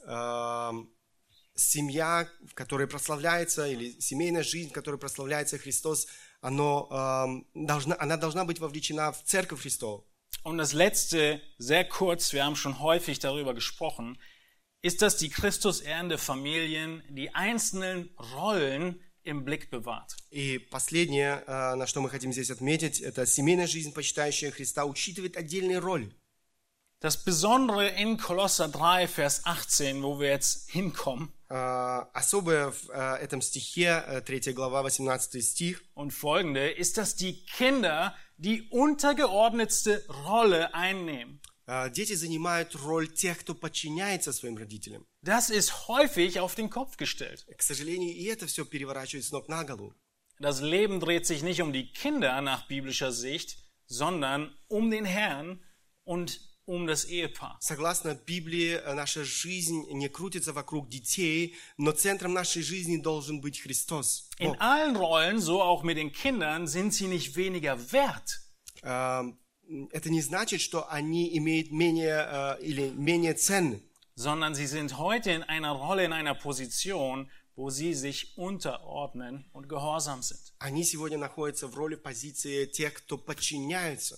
эм, семья, в которой прославляется, или семейная жизнь, в которой прославляется Христос, оно, эм, должна, она должна быть вовлечена в Церковь Христову. Und das Letzte, sehr kurz, wir haben schon häufig darüber gesprochen, ist, dass die Christus-ehrende Familien die einzelnen Rollen im Blick bewahrt. И последнее, э, на что мы хотим здесь отметить, это семейная жизнь, почитающая Христа, учитывает отдельные роли. Das Besondere in Kolosser drei, Vers achtzehn, wo wir jetzt hinkommen, Э, особое в э, этом стихе, э, третья глава, восемнадцатый стих, und folgende, ist, dass die Kinder die untergeordnetste Rolle einnehmen. э, дети занимают роль тех, кто подчиняется своим родителям. Das ist häufig auf den Kopf gestellt. К сожалению, и это все переворачивает с ног на голову. Das Leben dreht sich nicht um die Kinder nach biblischer Sicht, sondern um den Herrn und um das Ehepaar. Согласно Библии, э, наша жизнь не крутится вокруг детей, но центром нашей жизни должен быть Христос. In allen Rollen, so auch mit den Kindern, sind sie nicht weniger wert. Э, Это не значит, что они имеют менее э, или менее ценны, Sondern sie sind heute in einer Rolle, in einer Position, wo sie sich unterordnen und gehorsam sind. они сегодня находятся в роли позиции тех, кто подчиняется.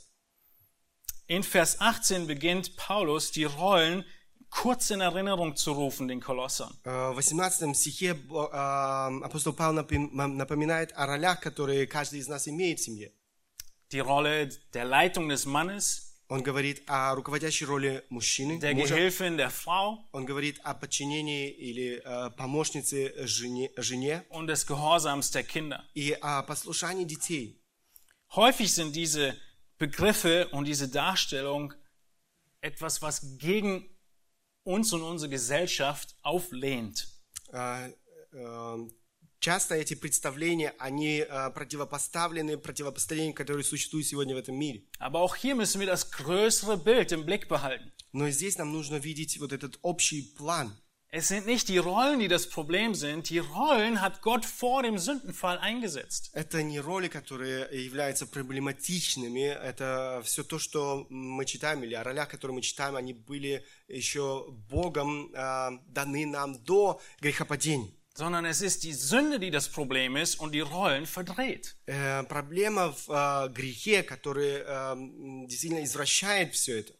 In Vers achtzehn beginnt Paulus, die Rollen kurz in Erinnerung zu rufen, den Kolossern. Э, В восемнадцатом стихе э, апостол Павел напи- напоминает о ролях, которые каждый из нас имеет в семье. Die Rolle der Leitung des Mannes, Он говорит о руководящей роли мужчины, der мужа. Gehilfin der Frau Он говорит о подчинении или э, помощнице жене, жене und des Gehorsams der Kinder. и о послушании детей. Häufig sind diese Begriffe und diese Darstellung etwas, was gegen uns und unsere Gesellschaft auflehnt. Э, э, Часто эти представления, они э, противопоставлены противопоставлению, которые существуют сегодня в этом мире. Aber auch hier müssen wir das größere Bild im Blick behalten. Но здесь нам нужно видеть вот этот общий план. Es sind nicht die Rollen, die das Problem sind. Die Rollen hat Gott vor dem Sündenfall eingesetzt. Это не роли, которые являются проблематичными, это все то, что мы читаем, или о ролях, которые мы читаем, они были еще Богом э, даны нам до грехопадения. Sondern es ist die Sünde, die das Problem ist und die Rollen verdreht. Э, проблема в э, грехе, который э, действительно извращает все это.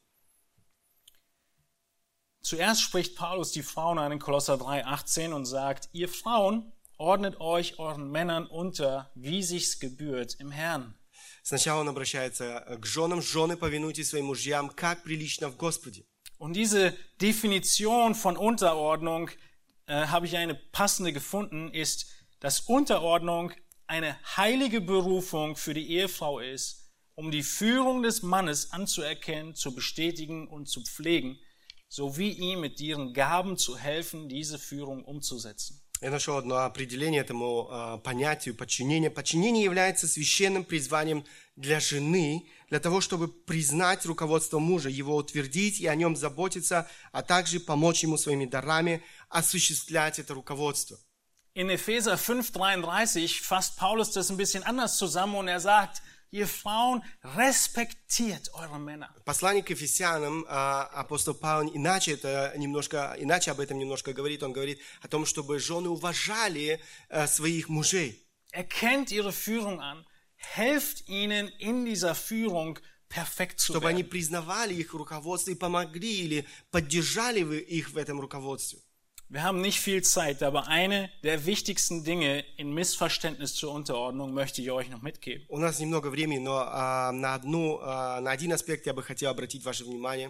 Zuerst spricht Paulus die Frauen an in Kolosser drei, achtzehn und sagt, ihr Frauen, ordnet euch euren Männern unter, wie sich's gebührt im Herrn. Сначала он обращается к женам. Жены, повинуйтесь своим мужьям, как прилично в Господе. Und diese Definition von Unterordnung, äh, habe ich eine passende gefunden, ist, dass Unterordnung eine heilige Berufung für die Ehefrau ist, um die Führung des Mannes anzuerkennen, zu bestätigen und zu pflegen, sowie ihm mit ihren Gaben zu helfen, diese Führung umzusetzen. Я нашел одно определение этому э, понятию подчинения. Подчинение является священным призванием для жены, для того, чтобы признать руководство мужа, его утвердить и о нем заботиться, а также помочь ему своими дарами осуществлять это руководство. In Epheser fünf dreiunddreißig fasst Paulus das ein bisschen anders zusammen und er sagt, ihr Frauen, respektiert eure Männer. Послание к Ефесянам, апостол Павел иначе, это немножко, иначе об этом немножко говорит. Он говорит о том, чтобы жены уважали своих мужей. Erkennt ihre Führung an, helft ihnen in dieser Führung perfekt zu Чтобы они werden. признавали их руководство и помогли или поддержали вы их в этом руководстве. Wir haben nicht viel Zeit, aber eine der wichtigsten Dinge in Missverständnis zur Unterordnung möchte ich euch noch mitgeben. У нас немного времени, но а, на, одну, а, на один аспект я бы хотел обратить ваше внимание.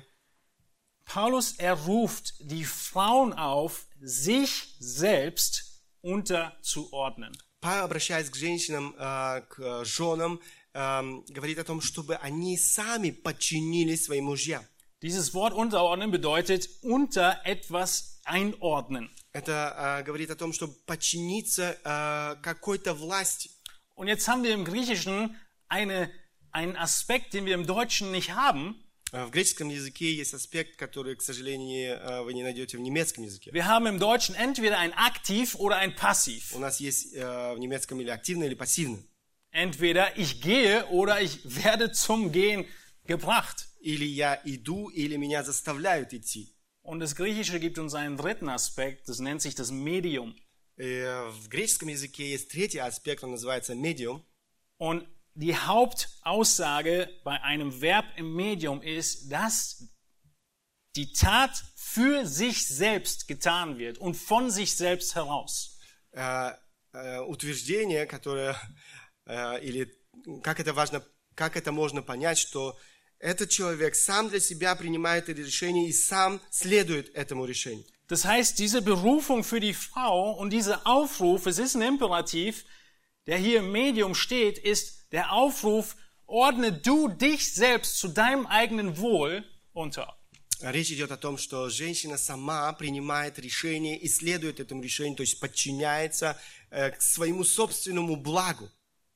Paulus, er ruft die Frauen auf, sich selbst unterzuordnen. Павел, обращаясь к женщинам, а, к женам, а, говорит о том, чтобы они сами подчинились своим мужьям. Dieses Wort unterordnen bedeutet unter etwas einordnen. Это а, говорит о том, чтобы подчиниться а, какой-то власти. Und jetzt haben wir im Griechischen eine, einen Aspekt, den wir im Deutschen nicht haben. В греческом языке есть аспект, который, к сожалению, а, вы не найдете в немецком языке. Wir haben im Deutschen entweder ein Aktiv oder ein Passiv. У нас есть а, в немецком или активно, или пассивно. Entweder ich gehe oder ich werde zum Gehen gebracht. Или я иду, или меня заставляют идти. Und das Griechische gibt uns einen dritten Aspekt, das nennt sich das Medium. Э, В греческом языке есть третий аспект, он называется медиум. Und die Hauptaussage bei einem Verb im Medium ist, dass die Tat für sich selbst getan wird und von sich selbst heraus. Э, э, Утверждение, которое, э, или как это важно, как это можно понять, что этот человек сам для себя принимает это решение и сам следует этому решению. Das heißt, diese Berufung für die Frau und dieser Aufruf, es ist ein Imperativ, der hier im Medium steht, ist der Aufruf, ordne du dich selbst zu deinem eigenen Wohl unter. Речь идет о том, что женщина сама принимает решение и следует этому решению, то есть подчиняется э, к своему собственному благу.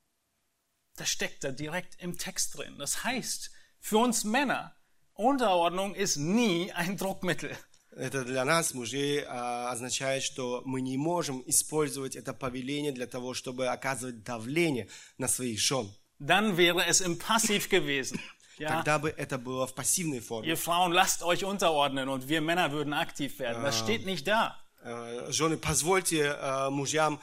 Das steckt da direkt im Text drin. Das heißt, für uns Männer, Unterordnung ist nie ein Druckmittel. Это для нас, мужей, а, означает, что мы не можем использовать это повеление для того, чтобы оказывать давление на своих жен. Dann wäre es im Passiv gewesen. Ja? Тогда бы это было в пассивной форме. Ihr Frauen lasst euch unterordnen und wir Männer würden aktiv werden. Das steht nicht da. Э, Жены, позвольте э, мужьям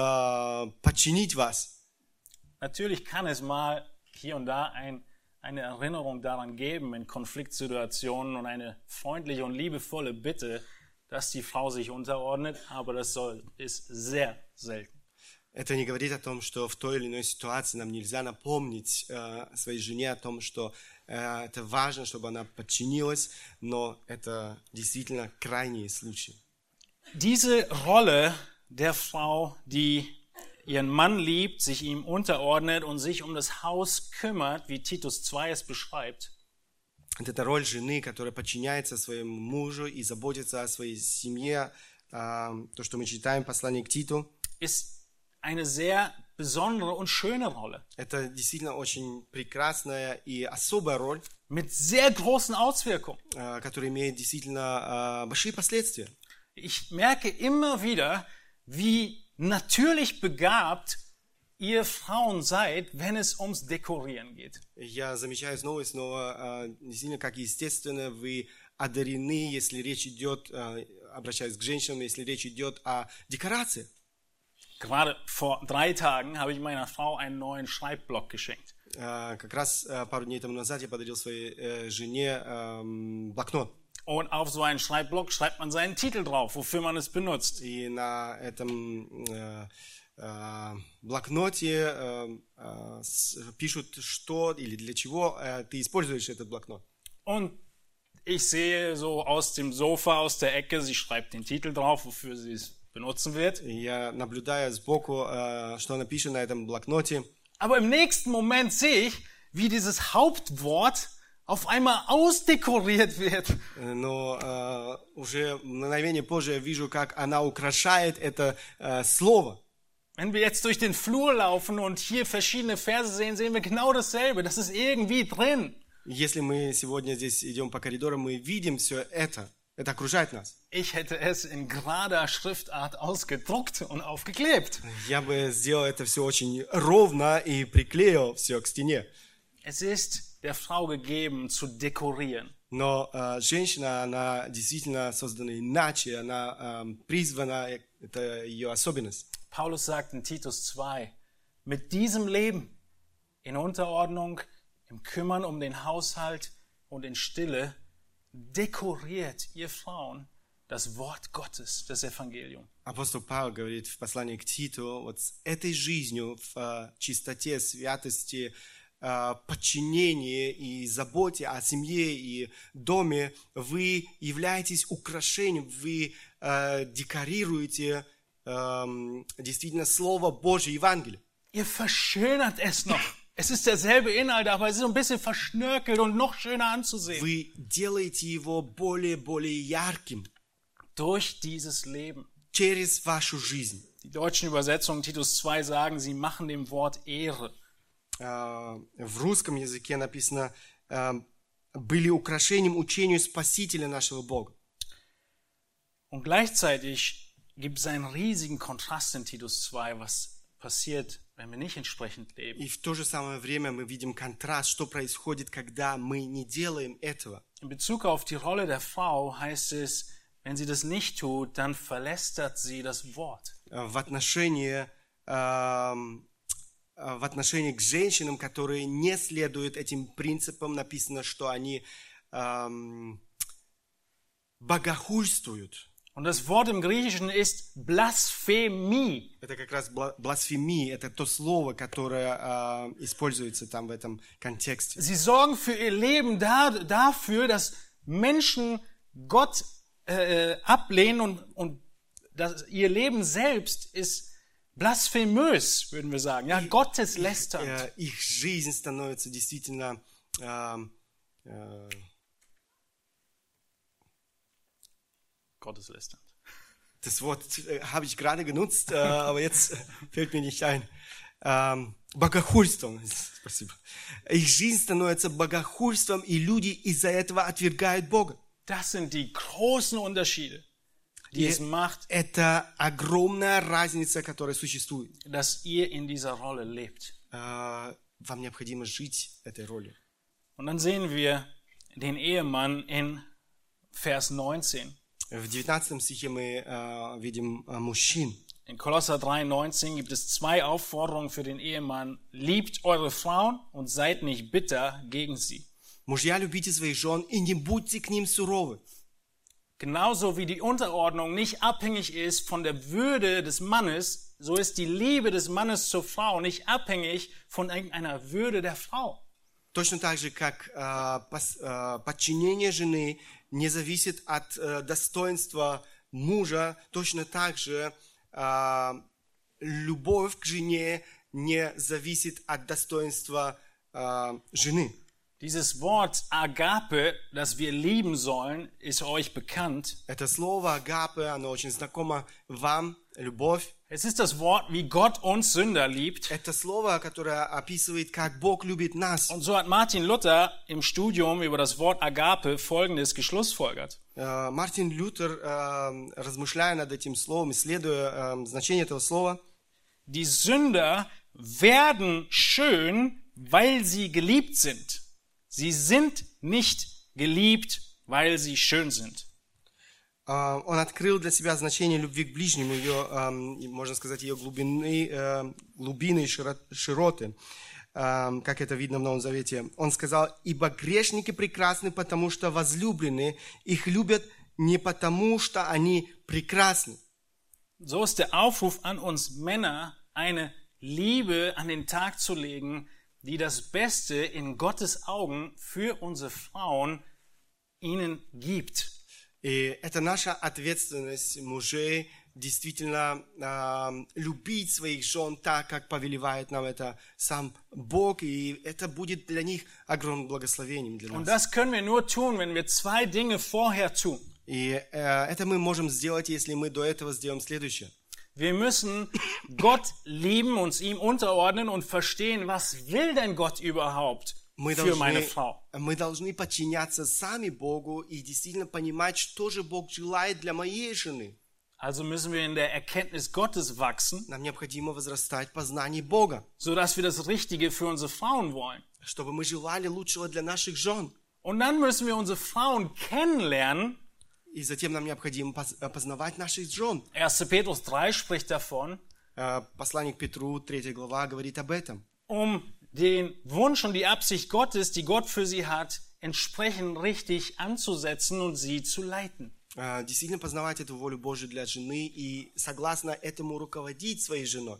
э, подчинить вас. Natürlich kann es mal hier und da ein, eine Erinnerung daran geben in Konfliktsituationen und eine freundliche und liebevolle Bitte, dass die Frau sich unterordnet, aber das soll, ist sehr selten. Это не говорит о том, что в той или иной ситуации нам нельзя напомнить э, своей жене о том, что э, это важно, чтобы она подчинилась, но это действительно крайние случаи. Diese Rolle der Frau, die ihren Mann liebt, sich ihm unterordnet und sich um das Haus kümmert, wie Titus zwei es beschreibt, Вот эта роль жены, которая подчиняется своему мужу и заботится о своей семье, э, то, что мы читаем в послании к Титу, ist eine sehr besondere und schöne Rolle. это действительно очень прекрасная и особая роль, Mit sehr großen Auswirkungen. э, которая имеет действительно э, большие последствия. Ich merke immer wieder, wie natürlich begabt ihr Frauen seid, wenn es ums Dekorieren geht. Я замечаю снова и снова, э, действительно, как естественно вы одарены, если речь идет, э, обращаюсь к женщинам, если речь идет о декорации. Gerade vor drei Tagen habe ich meiner Frau einen neuen Schreibblock geschenkt. Э, Как раз э, пару дней тому назад я подарил своей э, жене эм, блокнот. Und auf so einen Schreibblock schreibt man seinen Titel drauf, wofür man es benutzt. И на этом э, э, блокноте э, э, с- пишут, что или для чего э, ты используешь этот блокнот. Und ich sehe so aus dem Sofa, aus der Ecke, sie schreibt den Titel drauf, wofür sie es benutzen wird. И я наблюдаю сбоку, э, что написано на этом блокноте. Aber im nächsten Moment sehe ich, wie dieses Hauptwort auf einmal ausdekoriert wird. Но э, уже мгновение позже я вижу, как она украшает это э, слово. Wenn wir jetzt durch den Flur laufen und hier verschiedene Verse sehen, sehen wir genau dasselbe. Das ist irgendwie drin. Если мы сегодня здесь идем по коридорам, мы видим все это. Это окружает нас. Ich hätte es in gerader Schriftart ausgedruckt und aufgeklebt. Я бы сделал это все очень ровно и приклеил все к стене. Es ist der Frau gegeben, zu dekorieren. Но э, женщина, она действительно создана иначе, она э, призвана, это ее особенность. Paulus sagt in Titus zwei, mit diesem Leben, in Unterordnung, im Kümmern um den Haushalt und in Stille, dekoriert ihr Frauen das Wort Gottes, das Evangelium. Апостол Павел говорит в послании к Титу, вот с этой жизнью в э, чистоте, святости, э, подчинении и заботе о семье и доме вы являетесь украшением, вы э, декорируете э, действительно Слово Божье, Евангелие. Ihr verschönert es noch. Es ist derselbe Inhalt, aber es ist so ein bisschen verschnörkelt und noch schöner anzusehen. Вы делаете его более, более ярким Durch dieses Leben. через вашу жизнь. Die deutschen Übersetzungen Titus zwei sagen, sie machen dem Wort Ehre. Э, В русском языке написано э, «были украшением учению Спасителя нашего Бога». Und gleichzeitig gibt es einen riesigen Kontrast in Titus zwei, was passiert, wenn wir nicht entsprechend leben. И в то же самое время мы видим контраст, что происходит, когда мы не делаем этого. In Bezug auf die Rolle der Frau heißt es, wenn sie das nicht tut, dann verlästert sie das Wort. В отношении, эм, в отношении к женщинам, которые не следуют этим принципам, написано, что они эм, богохульствуют. Und das Wort im Griechischen ist Blasphemie. Это как раз бла- бласфемия, это то слово, которое э, используется там в этом контексте. Sie sorgen für ihr Leben da, dafür, dass Menschen Gott äh, ablehnen und, und das, ihr Leben selbst ist blasphemös, würden wir sagen. Ja, gotteslästernd. Э, их жизнь становится действительно... э, э, Gotteslästernd. Das Wort äh, habe ich gerade genutzt, äh, aber jetzt äh, fällt mir nicht ein. Ähm, богохульством. Спасибо. Их жизнь становится богохульством, и люди из-за этого отвергают Бога. Das sind die großen Unterschiede, die es macht, Это огромная разница, которая существует. dass ihr in dieser Rolle lebt. Э, Вам необходимо жить этой ролью. Und dann sehen wir den Ehemann in Vers neunzehn. В девятнадцатом стихе мы э, видим э, мужчин. In Kolosser drei neunzehn gibt es zwei Aufforderungen für den Ehemann. Liebt eure Frauen und seid nicht bitter gegen sie. Мужья, любите своих жен и не будьте к ним суровы. Genauso wie die Unterordnung nicht abhängig ist von der Würde des Mannes, so ist die Liebe des Mannes zur Frau nicht abhängig von irgendeiner Würde der Frau. Точно так же, как э, пос- э, подчинение жены не зависит от э, достоинства мужа, точно так же э, любовь к жене не зависит от достоинства э, жены. Dieses Wort Agape, das wir lieben sollen, ist euch bekannt. Это слово агапе, оно очень знакомо вам, любовь. Es ist das Wort, wie Gott uns Sünder liebt. Это слово, которое описывает, как Бог любит нас. Und so hat Martin Luther im Studium über das Wort Agape Folgendes geschlussfolgert. Э, Мартин Лютер, э, размышляя над этим словом, исследуя э, значение этого слова, Die Sünder werden schön, weil sie geliebt sind. Sie sind nicht geliebt, weil sie schön sind. Uh, он открыл для себя значение любви к ближнему, ее, um, можно сказать, ее глубины, uh, глубины и широ- широты, uh, как это видно в Новом Завете. Он сказал: «Ибо грешники прекрасны, потому что возлюблены, их любят не потому, что они прекрасны». So ist der Aufruf an uns Männer, eine Liebe an den Tag zu legen, die das Beste in Gottes Augen für unsere Frauen ihnen gibt. И это наша ответственность мужей действительно э, любить своих жен так, как повелевает нам это сам Бог, и это будет для них огромным благословением для Und нас. das können wir nur tun, wenn wir zwei Dinge vorher tun. И э, это мы можем сделать, если мы до этого сделаем следующее. Wir müssen Gott lieben, uns ihm unterordnen und verstehen, was will denn Gott überhaupt Мы für meine должны, Frau. мы должны подчиняться сами Богу и действительно понимать, что же Бог желает для моей жены. Also müssen wir in der Erkenntnis Gottes wachsen, Нам необходимо возрастать в познании Бога, sodass wir das Richtige für unsere Frauen wollen. чтобы мы желали лучшего для наших жен. Und dann müssen wir unsere Frauen kennenlernen. И затем нам необходимо поз- познавать наших жен. erster Petrus drei spricht davon, Э, Посланник Петру, третья глава, говорит об этом. um den Wunsch und die Absicht Gottes, die Gott für sie hat, entsprechend richtig anzusetzen und sie zu leiten. Э, Действительно познавать эту волю Божию для жены и согласно этому руководить своей женой.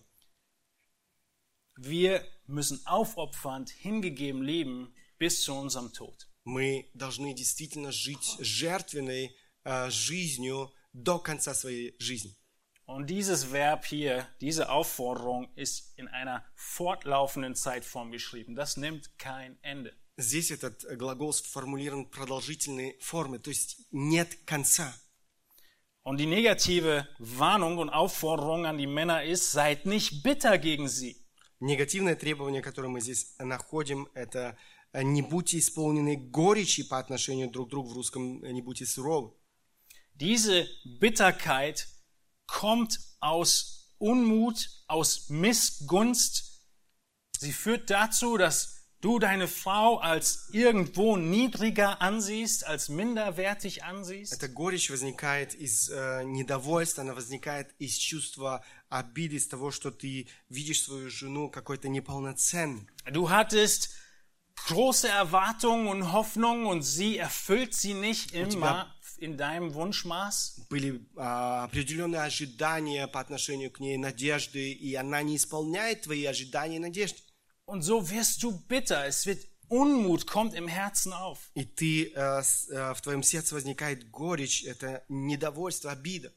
Wir müssen aufopfernd, hingegeben leben bis zu unserem Tod. Мы должны действительно жить жертвенной э, жизнью до конца своей жизни. Und dieses Verb hier, diese Aufforderung ist in einer fortlaufenden Zeitform geschrieben. Das nimmt kein Ende. Здесь этот глагол сформулирован в продолжительной форме, то есть нет конца. Und die negative Warnung und Aufforderung an die Männer ist, seid nicht bitter gegen sie. Негативное требование, которое мы здесь находим, это э, не будьте исполнены горечи по отношению друг к другу, в русском э, не будьте суровы. Diese Bitterkeit kommt aus Unmut, aus Missgunst. Sie führt dazu, dass du deine Frau als irgendwo niedriger ansiehst, als minderwertig ansiehst. Эта горечь возникает из э, недовольства, она возникает из чувства обиды, из того, что ты видишь свою жену какой-то неполноценной. Du hattest große Erwartungen und Hoffnungen und sie erfüllt sie nicht immer in deinem Wunschmaß. Были а, определенные ожидания по отношению к ней, надежды, и она не исполняет твои ожидания и надежды. Und so wirst du bitter. Es wird Unmut, kommt im Herzen auf. И ты, э, с- э, в твоем сердце возникает горечь, это недовольство, обида.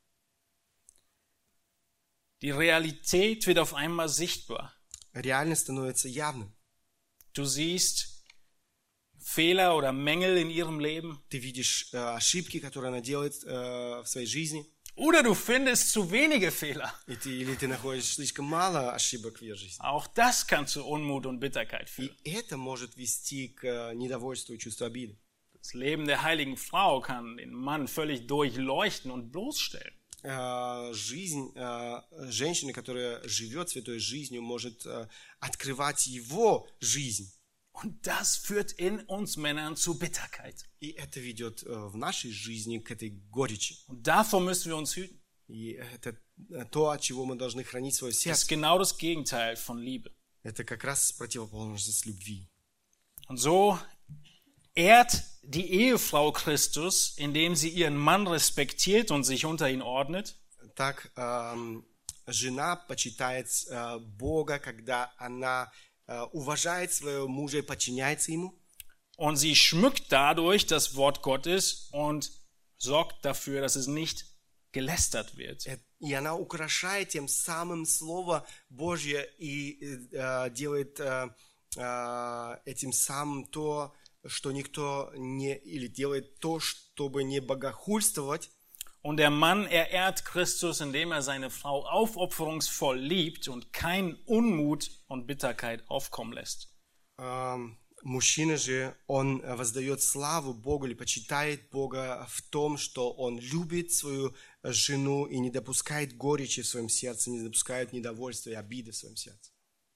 Die Realität wird auf einmal sichtbar. Реальность становится явным. Du siehst Fehler oder Mängel in ihrem Leben. Ты видишь э, ошибки, которые она делает э, в своей жизни, Oder du findest zu wenige Fehler. и ты, или ты находишь слишком мало ошибок в ее жизни. Auch das kann zu Unmut und Bitterkeit führen. И это может вести к э, недовольству и чувству обиды. Das Leben der heiligen Frau kann den Mann völlig durchleuchten und bloßstellen. Э, Жизнь э, женщины, которая живет святой жизнью, может э, открывать его жизнь. Und das führt in uns Männern zu Bitterkeit. И это ведет э, в нашей жизни к этой горечи. Und davor müssen wir uns hüten. И это э, то, от чего мы должны хранить свое Das ist сердце. genau das Gegenteil von Liebe. Это как раз противоположность любви. Und so ehrt die Ehefrau Christus, indem sie ihren Mann respektiert und sich unter ihn ordnet. Так эм, жена почитает э, Бога, когда она э, уважает своего мужа и подчиняется ему. Und sie schmückt dadurch das Wort Gottes und sorgt dafür, dass es nicht gelästert wird. Э, И она украшает тем самым Слово Божье и э, делает э, э, этим самым то, что никто не... Или делает то, чтобы не богохульствовать. Und der Mann, er ehrt Christus, indem er seine Frau aufopferungsvoll liebt und keinen Unmut und Bitterkeit aufkommen lässt. Эм, Мужчина же, он воздает славу Богу или почитает Бога в том, что он любит свою жену и не допускает горечи в своем сердце, не допускает недовольства и обиды в своем сердце.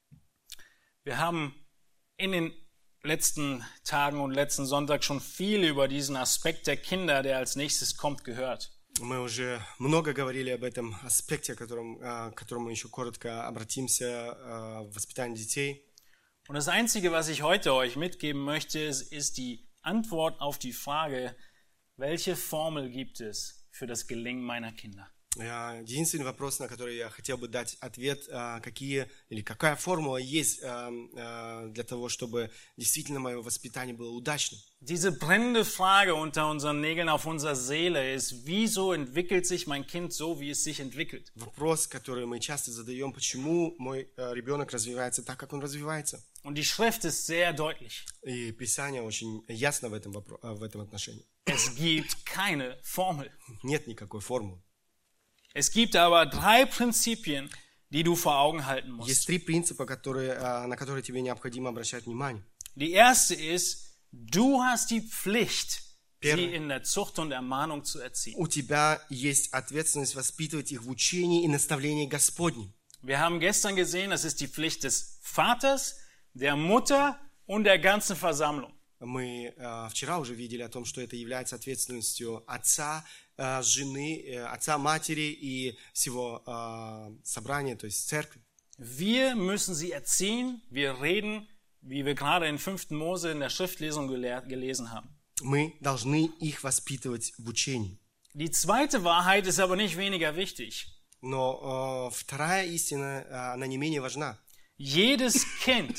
Wir haben in den letzten Tagen und letzten Sonntag schon viel über diesen Aspekt der Kinder, der als nächstes kommt, gehört. Мы уже много говорили об этом аспекте, о котором, э, к которому еще коротко обратимся, э, в воспитании детей. Und das Einzige, was ich heute euch mitgeben möchte, ist, ist die Antwort auf die Frage, welche Formel gibt es für das Gelingen meiner Kinder? Э, Единственный вопрос, на который я хотел бы дать ответ, э, какие или какая формула есть э, э, для того, чтобы действительно мое воспитание было удачным. Diese brennende Frage unter unseren Nägeln auf unserer Seele ist, wieso entwickelt sich mein Kind so, wie es sich entwickelt? Вопрос, который мы часто задаем, почему мой э, ребенок развивается так, как он развивается. Und die Schrift ist sehr deutlich. И Писание очень ясно в этом, вопро- э, в этом отношении. Es gibt keine Formel. Нет никакой формулы. Es gibt aber drei Prinzipien, die du vor Augen halten musst. Есть три принципа, которые, э, на которые тебе необходимо обращать внимание. Die erste ist, du hast die Pflicht, Первое. sie in der Zucht und Ermahnung zu erziehen. У тебя есть ответственность воспитывать их в учении и наставлении Господнем. Wir haben gestern gesehen, das ist die Pflicht des Vaters, der Mutter und der ganzen Versammlung. Мы э, вчера уже видели о том, что это является ответственностью отца, э, жены, э, отца, матери и всего э, собрания, то есть церкви. Wir müssen sie erziehen. Wir reden, wie wir gerade in fünften Mose in der Schriftlesung gelehrt, gelesen haben. Мы должны их воспитывать в учении. Die zweite Wahrheit ist aber nicht weniger wichtig. Но э, вторая истина, э, она не менее важна. Jedes Kind,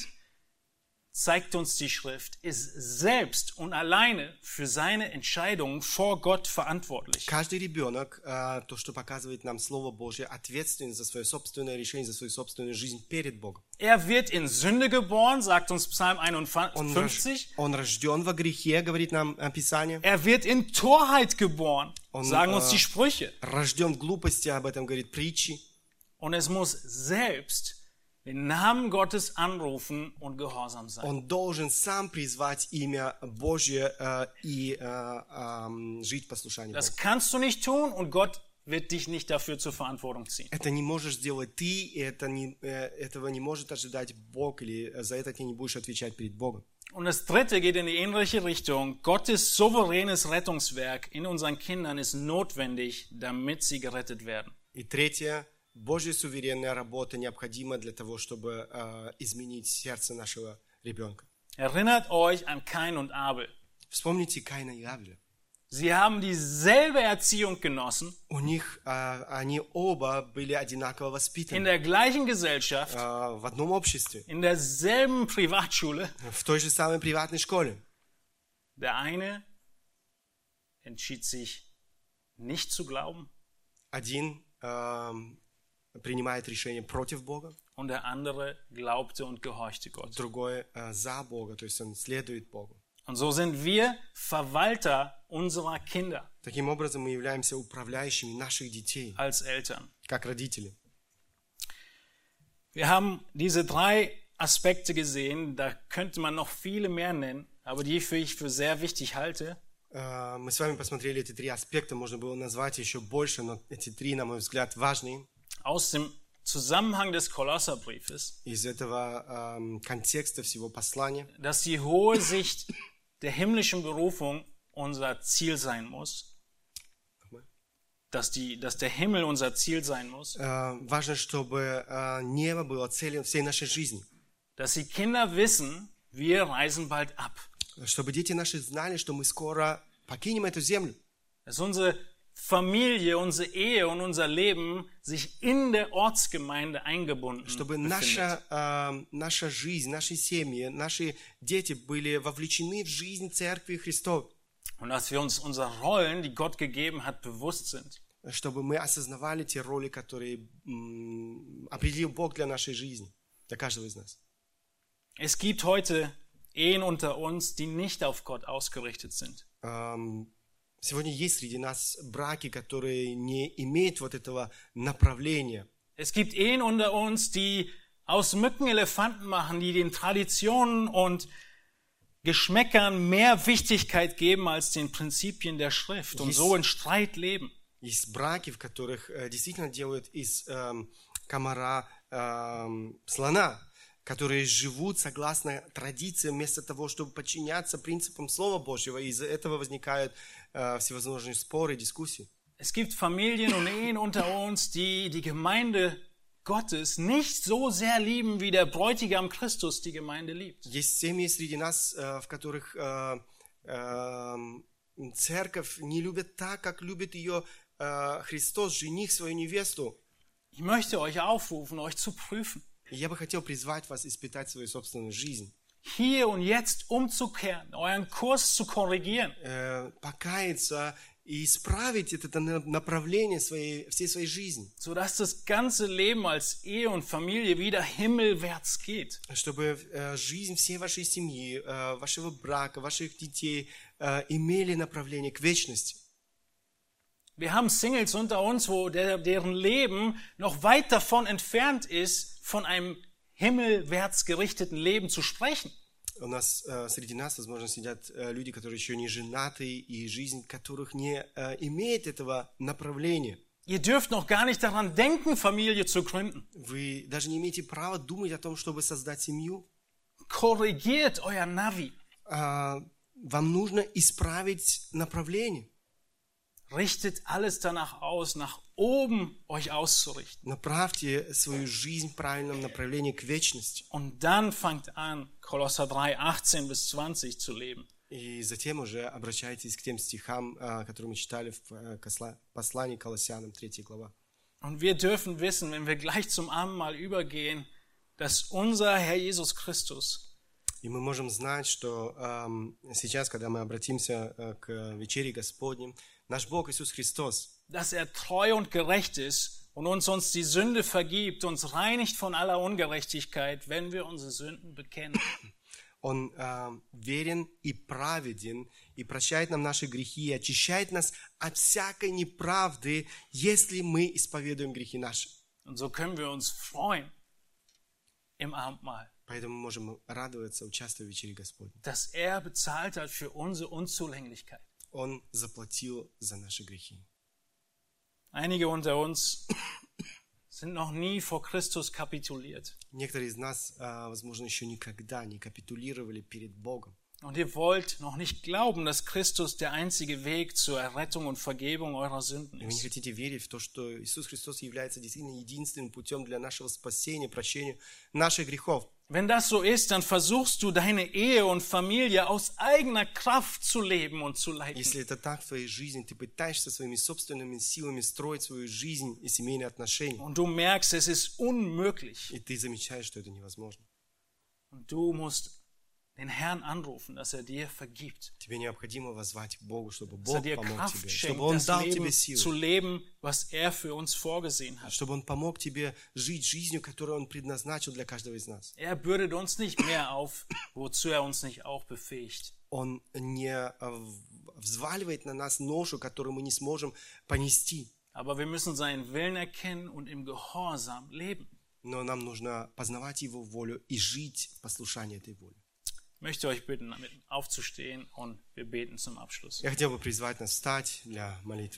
zeigt uns die Schrift, ist selbst und alleine für seine Entscheidungen vor Gott verantwortlich. Каждый ребенок, э, то, что показывает нам Слово Божье, ответственен за свое собственное решение, за свою собственную жизнь перед Богом. Er wird in Sünde geboren, sagt uns Psalm Он, einundfünfzig. он рожден во грехе, говорит нам э, Писание. Er wird in Torheit geboren, Und, sagen uns äh, die Sprüche. Рожден в глупости, об этом говорит притчи. Und es muss selbst den Namen Gottes anrufen und gehorsam sein. Он должен сам призвать имя Божье э, и э, э, жить в послушании Богу. Das kannst du nicht tun und Gott wird dich nicht dafür zur Verantwortung ziehen. Это не можешь сделать ты, и это не, э, этого не может ожидать Бог, или за это ты не будешь отвечать перед Богом. Und das dritte geht in die ähnliche Richtung. Gottes souveränes Rettungswerk in unseren Kindern ist notwendig, damit sie gerettet werden. И третье, Божья суверенная работа необходима для того, чтобы э, изменить сердце нашего ребенка. Erinnert euch an Kain und Abel. Вспомните Каина и Авеля. Sie haben dieselbe Erziehung genossen, У них, э, они оба были одинаково in воспитаны der gleichen Gesellschaft, э, в одном обществе, in derselben Privatschule. в той же самой приватной школе. Der eine entschied sich, nicht zu glauben, Один э, принимает решение против Бога, und der andere glaubte und gehorchte Gott. другой э, за Бога, то есть он следует Богу. Und so sind wir Verwalter unserer Kinder Таким образом, мы являемся управляющими наших детей, als Eltern. как родители. Wir haben diese drei Aspekte gesehen, da könnte man noch viele mehr nennen, aber die für ich für sehr wichtig halte. Э, Мы с вами посмотрели эти три аспекта, можно было назвать еще больше, но эти три, на мой взгляд, важные. Aus dem Zusammenhang des Kolosserbriefes, Из этого эм, контекста всего послания, dass die hohe Sicht der himmlischen Berufung unser Ziel sein muss, dass, die, dass der Himmel unser Ziel sein muss, э, важно, чтобы э, небо было целью всей нашей жизни. dass die Kinder wissen, wir reisen bald ab. Чтобы дети наши знали, что мы скоро покинем эту землю. Dass unsere Familie, unsere Ehe und unser Leben sich in der Ortsgemeinde eingebunden Чтобы befindet. наша, э, наша жизнь, наши семьи, наши дети были вовлечены в жизнь Церкви Христовой. Und dass wir uns unserer Rollen, die Gott gegeben hat, bewusst sind. Чтобы мы осознавали те роли, которые м, определил Бог для нашей жизни, для каждого из нас. Es gibt heute Ehen unter uns, die nicht auf Gott ausgerichtet sind. Эм, Сегодня есть среди нас браки, которые не имеют вот этого направления. Es gibt Ehen unter uns, die aus Mücken Elefanten machen, die den Traditionen und Geschmäckern mehr Wichtigkeit geben als den Prinzipien der Schrift und so in Streit leben. Есть браки, в которых э, действительно делают из эм, комара эм, слона, которые живут согласно традициям вместо того, чтобы подчиняться принципам Слова Божьего. И из-за этого возникают э, всевозможные споры, дискуссии. Es gibt Familien und Ehen unter uns, die die Gemeinde Gottes nicht so sehr lieben, wie der Bräutigam Christus die Gemeinde liebt. Есть семьи среди нас, э, в которых э, э, церковь не любит так, как любит ее э, Христос, жених свою невесту. Ich möchte euch aufrufen, euch zu prüfen. И я бы хотел призвать вас испытать свою собственную жизнь. Hier und jetzt umzukehren, euren Kurs zu korrigieren. Э, покаяться и исправить это направление своей, всей своей жизни. Sodass das ganze Leben als Ehe und Familie wieder himmelwärts geht. Чтобы э, жизнь всей вашей семьи, э, вашего брака, ваших детей э, имели направление к вечности. Wir haben Singles unter uns, wo der, deren Leben noch weit davon entfernt ist, von einem himmelwärts gerichteten Leben zu sprechen. У нас э, среди нас, возможно, сидят э, люди, которые еще не женаты, и жизнь которых не э, имеет этого направления. Ihr dürft noch gar nicht daran denken, Familie zu gründen. Вы даже не имеете права думать о том, чтобы создать семью. Korrigiert euer Navi. А, вам нужно исправить направление. Richtet alles danach aus, nach oben euch auszurichten. Направьте свою жизнь в правильном направлении к вечности. Und dann fangt an, Kolosser drei, achtzehn bis zwanzig zu leben. И затем уже обращайтесь к тем стихам, которые мы читали в послании к Колоссянам, третья глава. Und wir dürfen wissen, wenn wir gleich zum Abendmahl übergehen, dass unser Herr Jesus Christus И мы можем знать, что эм, сейчас, когда мы обратимся э, к вечере Господней, наш Бог Иисус Христос, dass er treu und gerecht ist und uns uns die Sünde vergibt, uns reinigt von aller Ungerechtigkeit, wenn wir unsere Sünden bekennen. Он э, верен и праведен, и прощает нам наши грехи, и очищает нас от всякой неправды, если мы исповедуем грехи наши. Und so können wir uns freuen im Abendmahl, Поэтому мы можем радоваться, участвуя в вечере Господней. dass er bezahlt hat für unsere Unzulänglichkeit. Он заплатил за наши грехи. Einige unter uns sind noch nie vor Christus kapituliert. Некоторые из нас, э, возможно, еще никогда не капитулировали перед Богом. Und ihr wollt noch nicht glauben, dass Christus der einzige Weg zur Errettung und Vergebung eurer Sünden И вы не ist. хотите верить в то, что Иисус Христос является действительно единственным путем для нашего спасения, прощения наших грехов. Wenn das so ist, dann versuchst du deine Ehe und Familie aus eigener Kraft zu leben und zu leiten. Если это так в твоей жизни, ты пытаешься своими собственными силами строить свою жизнь и семейные отношения, Und du merkst, es ist unmöglich. и ты замечаешь, что это невозможно. Und du musst den Herrn anrufen, dass er dir vergibt. Тебе необходимо воззвать к Богу, чтобы Dass er Бог dir помог Kraft тебе, schenkt, чтобы Он das дал Leben тебе zu силу, leben, was er für uns vorgesehen hat. чтобы Он помог тебе жить жизнью, которую Он предназначил для каждого из нас. Er bürdet uns nicht mehr auf, wozu er uns nicht auch befähigt. Он не э, взваливает на нас ношу, которую мы не сможем понести. Aber wir müssen seinen Willen erkennen und im Gehorsam leben. Но нам нужно познавать Его волю и жить в послушании этой воли. Ich möchte euch bitten, damit aufzustehen und wir beten zum Abschluss. Я хотел бы призвать нас встать для молитвы.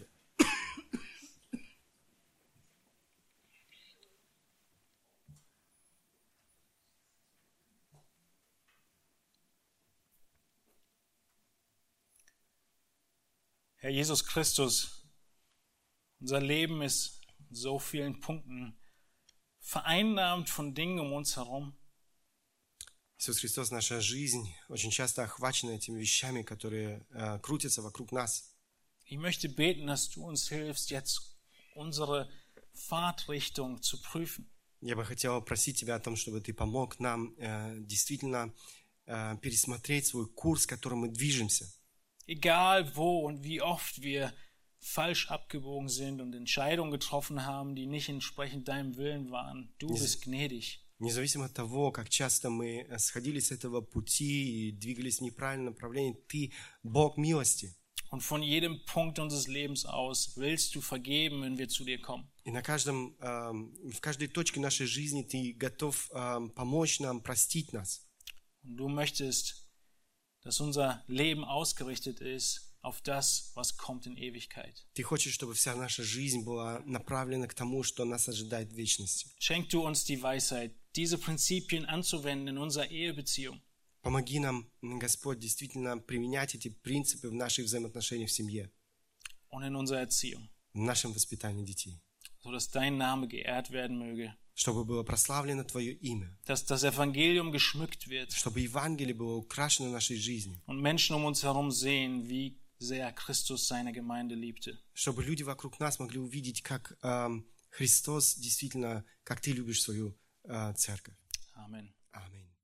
Herr Jesus Christus, unser Leben ist in so vielen Punkten vereinnahmt von Dingen um uns herum. Иисус Христос, наша жизнь очень часто охвачена этими вещами, которые э, крутятся вокруг нас. Ich möchte beten, dass du uns hilfst, jetzt unsere Fahrtrichtung zu prüfen. Я бы хотел просить Тебя о том, чтобы Ты помог нам э, действительно э, пересмотреть свой курс, которым мы движемся. Egal wo und wie oft wir falsch abgebogen sind und Entscheidungen getroffen haben, die nicht entsprechend deinem Willen waren, du bist gnädig. Независимо от того, как часто мы сходили с этого пути и двигались в неправильном направлении, Ты Бог милости. Und von jedem Punkt unseres Lebens aus willst du vergeben, wenn wir zu dir kommen. И на каждом, э, в каждой точке нашей жизни Ты готов э, помочь нам, простить нас. Und du möchtest, dass unser Leben ausgerichtet ist auf das, was kommt in Ewigkeit. Ты хочешь, чтобы вся наша жизнь была направлена к тому, что нас ожидает в вечности. Schenk du uns die Weisheit, diese Prinzipien anzuwenden in unserer Ehebeziehung. Помоги нам, Господь, действительно применять эти принципы в наших взаимоотношениях в семье, Und in unserer Erziehung, в нашем воспитании детей, sodass dein Name geehrt werden möge, чтобы было прославлено Твое имя, dass das Evangelium geschmückt wird чтобы Евангелие было украшено нашей жизнью, und Menschen um uns herum sehen, wie sehr Christus seine Gemeinde liebte. Чтобы люди вокруг нас могли увидеть, как эм, Христос действительно, как ты любишь свою э, церковь. Amen. Аминь.